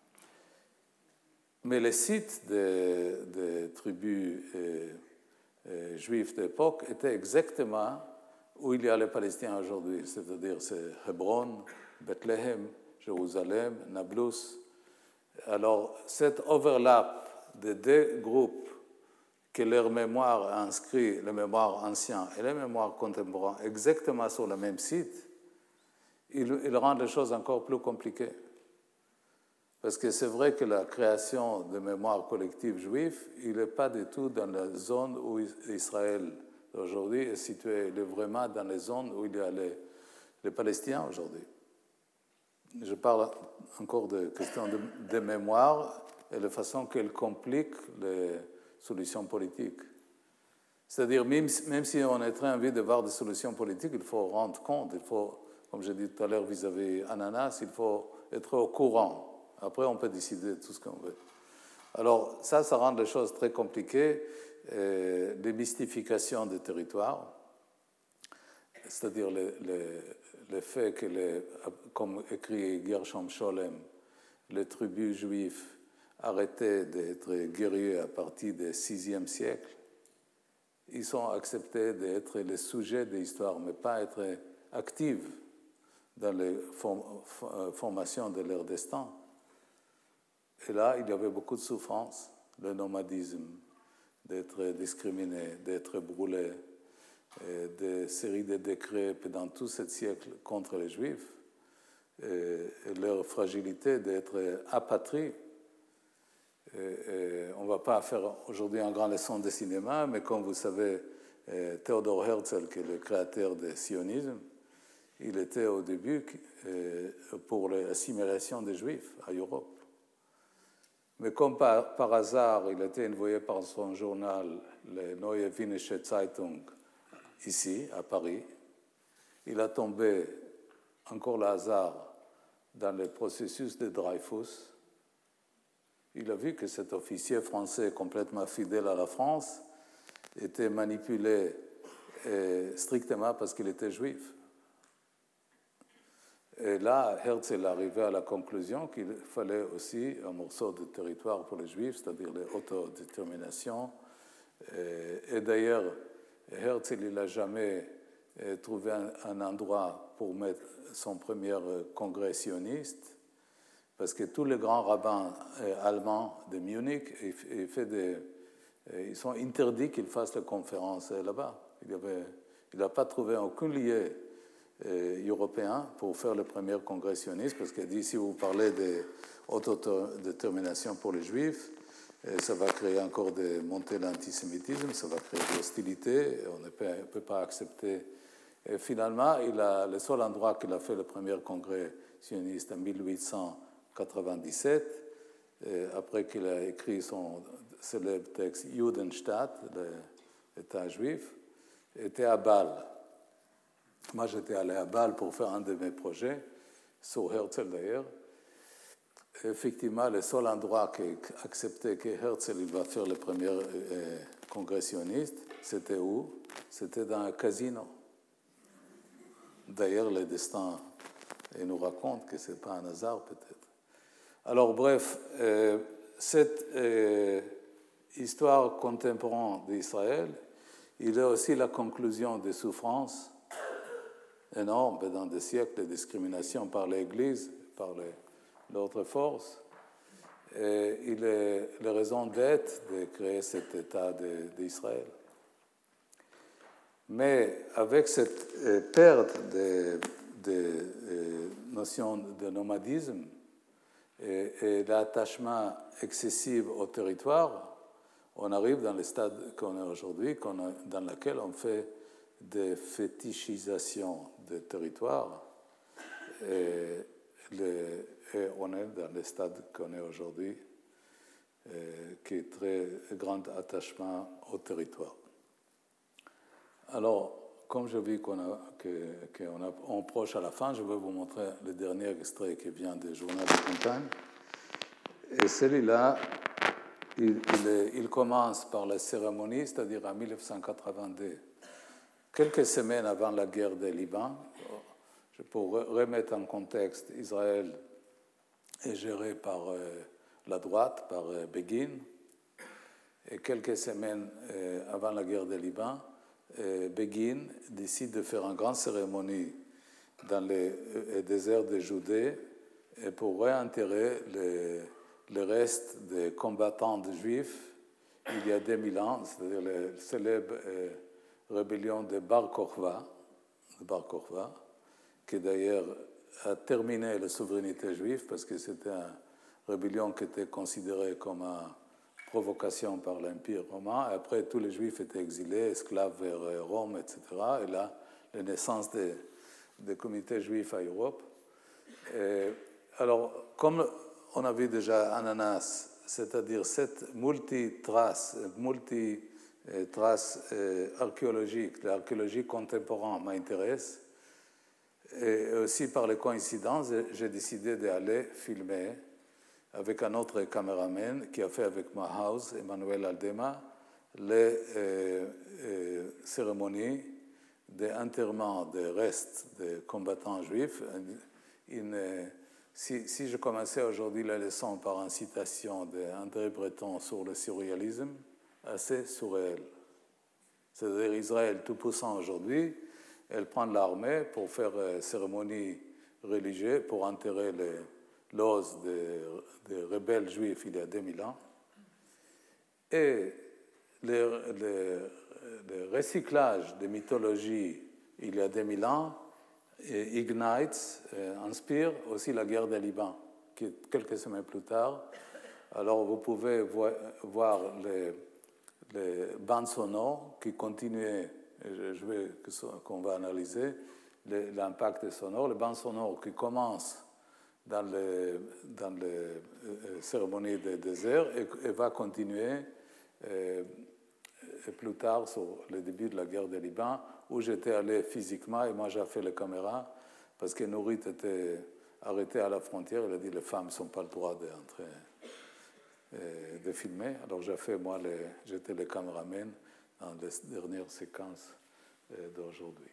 Mais les sites des, des tribus euh, euh, juives d'époque étaient exactement où il y a les Palestiniens aujourd'hui, c'est-à-dire c'est Hébron, Bethléem, Jérusalem, Nablus. Alors, cet overlap des deux groupes que leur mémoire a inscrit, le mémoire ancien et le mémoire contemporain, exactement sur le même site, il, il rend les choses encore plus compliquées. Parce que c'est vrai que la création de mémoire collective juive, il n'est pas du tout dans la zone où Israël aujourd'hui est situé, il est vraiment dans les zones où il y a les, les Palestiniens aujourd'hui. Je parle encore de questions de, de mémoire et de façon qu'elle complique les solutions politiques. C'est-à-dire, même, même si on est très envie de voir des solutions politiques, il faut rendre compte, il faut, comme j'ai dit tout à l'heure vis-à-vis Ananas, il faut être au courant. Après, on peut décider de tout ce qu'on veut. Alors, ça, ça rend les choses très compliquées. Euh, les mystifications des territoires, c'est-à-dire le, le, le fait que, les, comme écrit Gershom Scholem, les tribus juives arrêtaient d'être guerriers à partir du sixième siècle, ils ont accepté d'être les sujets de l'histoire, mais pas être actifs dans les form, formations de leur destin. Et là, il y avait beaucoup de souffrance, le nomadisme, d'être discriminé, d'être brûlé, des séries de décrets pendant tout ce siècle contre les Juifs, et, et leur fragilité d'être apatrie. Et, et on ne va pas faire aujourd'hui une grande leçon de cinéma, mais comme vous savez, Theodor Herzl, qui est le créateur du sionisme, il était au début pour l'assimilation des Juifs à Europe. Mais comme par, par hasard, il a été envoyé par son journal, le Neue Wienische Zeitung, ici, à Paris, il a tombé, encore le hasard, dans le processus de Dreyfus. Il a vu que cet officier français complètement fidèle à la France était manipulé eh, strictement parce qu'il était juif. Et là, Herzl arrivait à la conclusion qu'il fallait aussi un morceau de territoire pour les Juifs, c'est-à-dire l'autodétermination. Et, et d'ailleurs, Herzl n'a jamais trouvé un, un endroit pour mettre son premier congrès sioniste, parce que tous les grands rabbins allemands de Munich, ils, fait des, ils sont interdits qu'ils fassent la conférence là-bas. Il n'a pas trouvé aucun lieu européen pour faire le premier congrès sioniste, parce qu'il dit si vous parlez d'autodétermination pour les Juifs, ça va créer encore des montées de l'antisémitisme, ça va créer de l'hostilité, on ne peut, peut pas accepter. Et finalement, il a, le seul endroit qu'il a fait le premier congrès sioniste en mille huit cent quatre-vingt-dix-sept, après qu'il a écrit son célèbre texte Judenstaat, l'État juif, était à Bâle. Moi, j'étais allé à Bâle pour faire un de mes projets, sur Herzl d'ailleurs. Effectivement, le seul endroit qui acceptait que Herzl il va faire le premier euh, congrès sioniste, c'était où? C'était dans un casino. D'ailleurs, le destin il nous raconte que ce n'est pas un hasard, peut-être. Alors, bref, euh, cette euh, histoire contemporaine d'Israël, il est aussi la conclusion des souffrances énormes dans des siècles de discrimination par l'Église, par d'autres forces. Et il est la raison d'être de créer cet État d'Israël. Mais avec cette euh, perte de, de euh, notion de nomadisme et, et l'attachement excessif au territoire, on arrive dans le stade qu'on est aujourd'hui, qu'on a, dans lequel on fait des fétichisations des territoires. Et, le, et on est dans le stade qu'on est aujourd'hui, euh, qui est très grand attachement au territoire. Alors, comme je vis qu'on a, que, qu'on a, on approche à la fin, je vais vous montrer le dernier extrait qui vient du journal de campagne. Et celui-là, il, il, est, il commence par la cérémonie, c'est-à-dire en mille neuf cent quatre-vingt-deux, quelques semaines avant la guerre du Liban. pour remettre en contexte, Israël est géré par euh, la droite, par euh, Begin. Et quelques semaines euh, avant la guerre du Liban, euh, Begin décide de faire une grande cérémonie dans le euh, désert de Judée et pour réenterrer les, les restes des combattants de juifs il y a deux mille ans, c'est-à-dire la célèbre euh, rébellion de Bar Kokhba, de Bar Kokhba, qui d'ailleurs a terminé la souveraineté juive parce que c'était une rébellion qui était considérée comme une provocation par l'Empire romain. Et après, tous les juifs étaient exilés, esclaves vers Rome, et cetera. Et là, la naissance des, des communautés juives à Europe. Et alors, comme on a vu déjà Ananas, c'est-à-dire cette multi-trace, multi-trace archéologique, l'archéologie contemporaine m'intéresse. Et aussi par les coïncidences, j'ai décidé d'aller filmer avec un autre caméraman qui a fait avec ma house, Emmanuel Aldema, les euh, euh, cérémonies d'enterrement des restes des combattants juifs. Une, si, si je commençais aujourd'hui la leçon par une citation d'André Breton sur le surréalisme, assez surréel. C'est-à-dire Israël tout-puissant aujourd'hui, elle prend l'armée pour faire une cérémonie religieuse pour enterrer les l'os des, des rebelles juifs il y a deux mille ans. Et le, le, le recyclage de mythologie il y a deux mille ans et Ignite euh, inspire aussi la guerre du Liban, qui est quelques semaines plus tard. Alors vous pouvez vo voir les, les bandes sonores qui continuaient, je, je vais qu'on va analyser l'impact sonore, les bandes sonores qui commencent dans les, dans les euh, cérémonies de désert et, et va continuer euh, et plus tard sur le début de la guerre du Liban, où j'étais allé physiquement et moi j'ai fait les caméras parce que Nourit était arrêté à la frontière. Il a dit les femmes n'ont pas le droit d'entrer, euh, de filmer. Alors j'ai fait, moi, les, j'étais le caméraman dans les dernières séquences euh, d'aujourd'hui.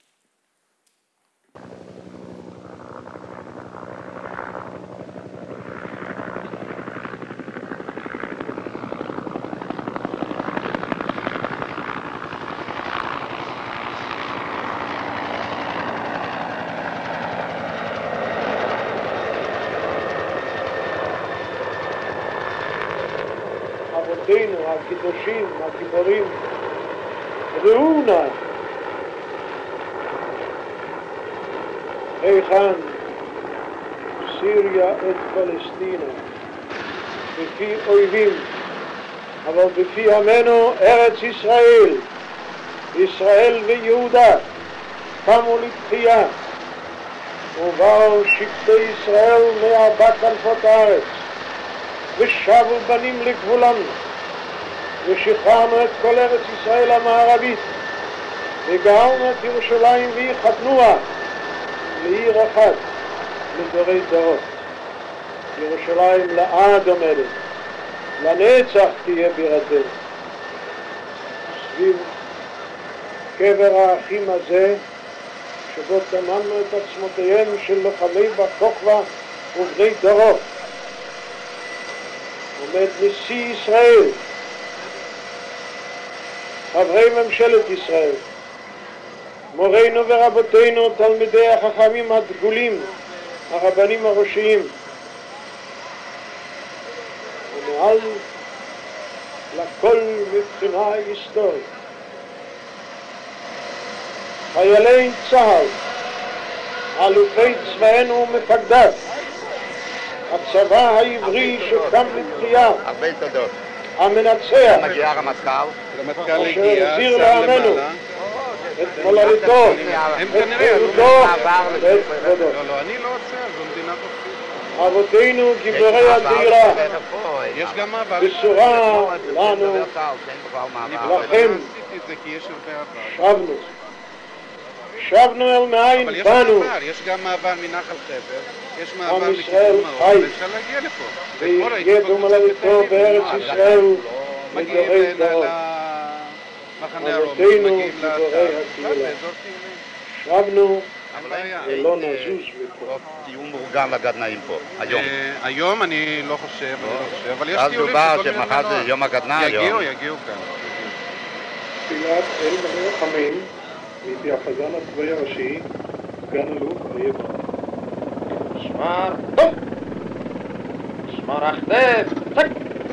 הקדושים, הגיבורים, ראו נא היכן סיריה את פלסטינה בפי אויבים, אבל בפי עמנו ארץ ישראל, ישראל ויהודה קמו לתחייה, ובאו שבטי ישראל מארבע כנפות הארץ, ושבו בנים לגבולם, ושחררנו את כל ארץ ישראל המערבית, וגאלנו את ירושלים והחתנוה לעיר אחת לדורי דורות. ירושלים לעד עומדת, לנצח תהיה בירתנו. סביב קבר האחים הזה, שבו טמנו את עצמותיהם של לוחמי בר כוכבא ובני דורו, עומד נשיא ישראל, חברי ממשלת ישראל, מורינו ורבותינו, תלמידי החכמים הדגולים, הרבנים הראשיים, ומעל לכל מבחינה היסטורית, חיילי צה"ל, אלופי צבאנו ומפקדיו, הצבא העברי שקם לתחייה, הרבה תודות. המנצח, מגיע הרמטכ"ל, אשר החזיר לעמנו את מולדתו, את חירותו ואת כבודו. לא, לא, אני לא עוצר, זו מדינה חופשית. אבותינו גיבורי הדירה, יש גם מעבר. בשורה לנו, לכם, שבנו. שבנו אל מאין אבל יש באנו. מעבר, יש גם מעבר מנחל חבר, יש מעבר עם ישראל מכיוון חי, מאור, אפשר להגיע לפה. ויחיה במולדתו בארץ ישראל מגיעים לדורי דורות. למחנה הרוב, אבותינו מגיעים גיבורי לאתר, הקהילה. באזור טיולים. שבנו ולא נזוז מפה. תהיו מאורגן לגדנאים פה, היום. היום אני לא חושב, אני לא חושב, אבל יש אז טיולים דובר של כל מיני שמחר זה מנוע. יום הגדנ"ע היום. יגיעו, יגיעו כאן. תפילת אל מלא רחמים מפי החזן הצבאי הראשי, סגן אלוף אריה בר. שמר, טוב! שמר אחדף, צק!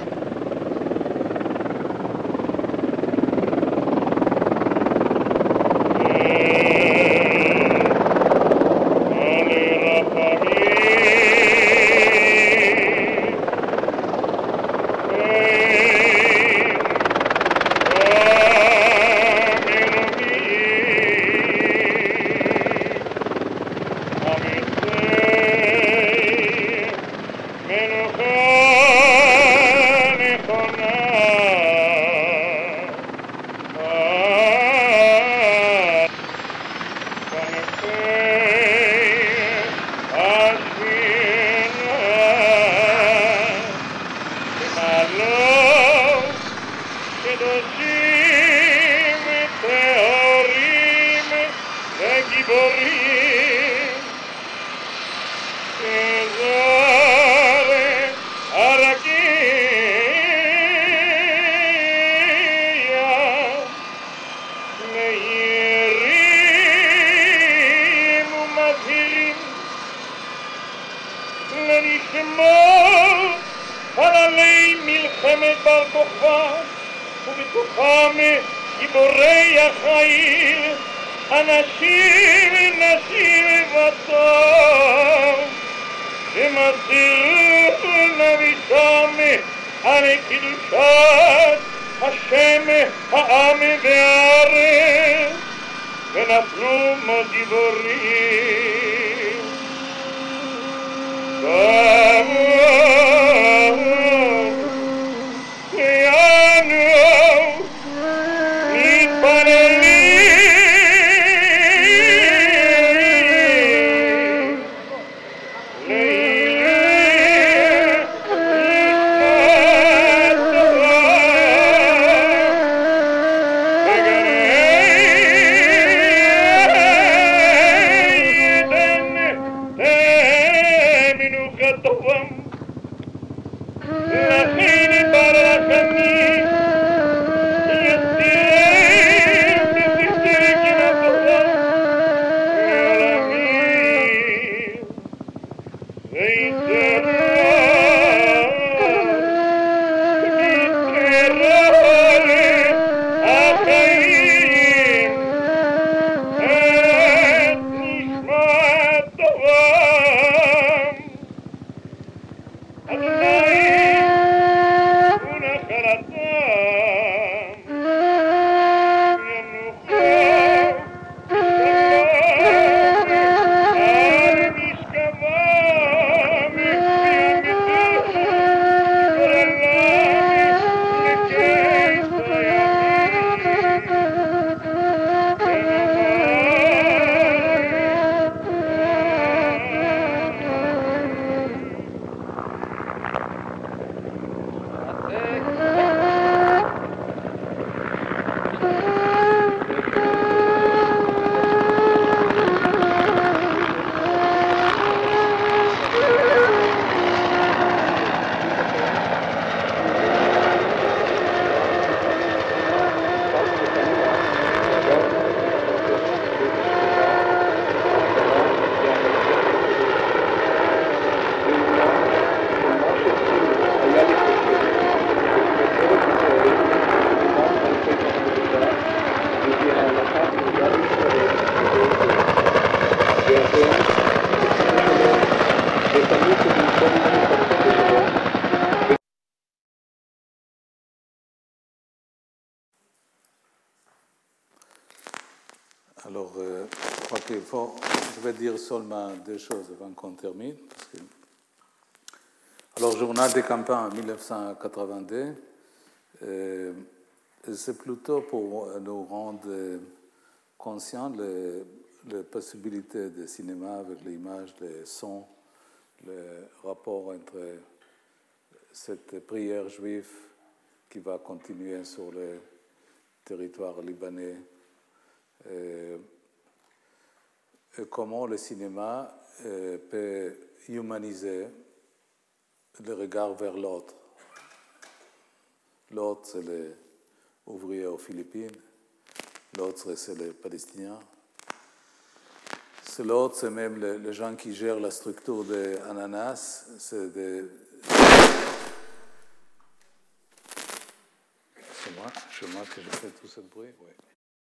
Alors, euh, je crois qu'il faut, je vais dire seulement deux choses avant qu'on termine. Parce que... Alors, journal des campagnes en mille neuf cent quatre-vingt-deux, euh, c'est plutôt pour nous rendre conscients des les possibilités de cinéma avec l'image, les sons, le rapport entre cette prière juive qui va continuer sur le territoire libanais, Euh, et comment le cinéma euh, peut humaniser le regard vers l'autre. L'autre, c'est les ouvriers aux Philippines. L'autre, c'est les Palestiniens. C'est l'autre, c'est même les, les gens qui gèrent la structure des ananas. C'est des... C'est moi, c'est moi que je fais tout ce bruit, oui.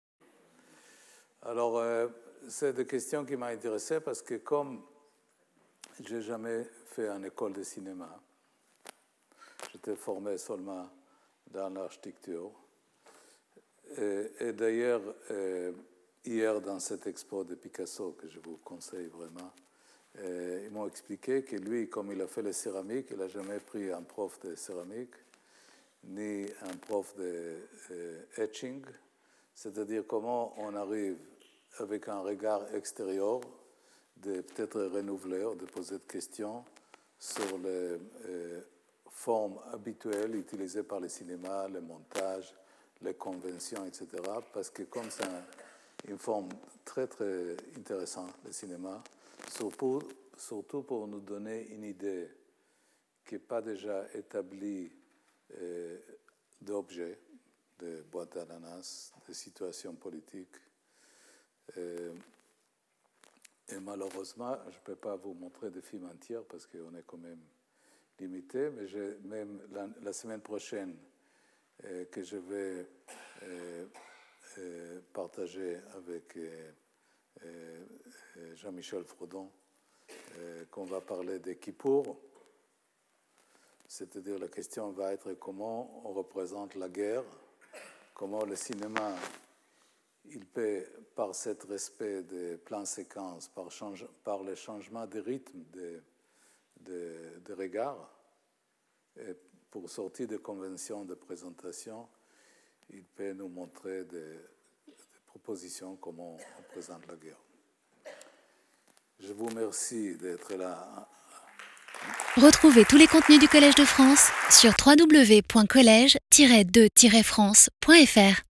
Alors, euh, c'est des questions qui m'ont intéressé parce que comme je n'ai jamais fait une école de cinéma, j'étais formé seulement dans l'architecture. Et, et d'ailleurs, euh, hier, dans cette expo de Picasso, que je vous conseille vraiment, euh, ils m'ont expliqué que lui, comme il a fait la céramique, il n'a jamais pris un prof de céramique, ni un prof de euh, etching, c'est-à-dire comment on arrive avec un regard extérieur de peut-être renouveler ou de poser des questions sur les euh, formes habituelles utilisées par le cinéma, le montage, les conventions, et cetera. Parce que comme c'est un, une forme très, très intéressante, le cinéma, surtout, surtout pour nous donner une idée qui n'est pas déjà établie euh, d'objets, de boîtes d'ananas, de situations politiques. Euh, et malheureusement, je ne peux pas vous montrer des films entiers parce qu'on est quand même limité, mais j'ai même la, la semaine prochaine euh, que je vais euh, euh, partager avec euh, euh, Jean-Michel Frodon, euh, qu'on va parler des Kippour. C'est-à-dire la question va être comment on représente la guerre, comment le cinéma, il peut, par ce respect des plans séquences, par, change, par le changement de rythme de, de, de regard, et pour sortir des conventions de présentation, il peut nous montrer des, des propositions comment on présente la guerre. Je vous remercie d'être là. Retrouvez tous les contenus du Collège de France sur w w w point collège tiret de tiret france point f r.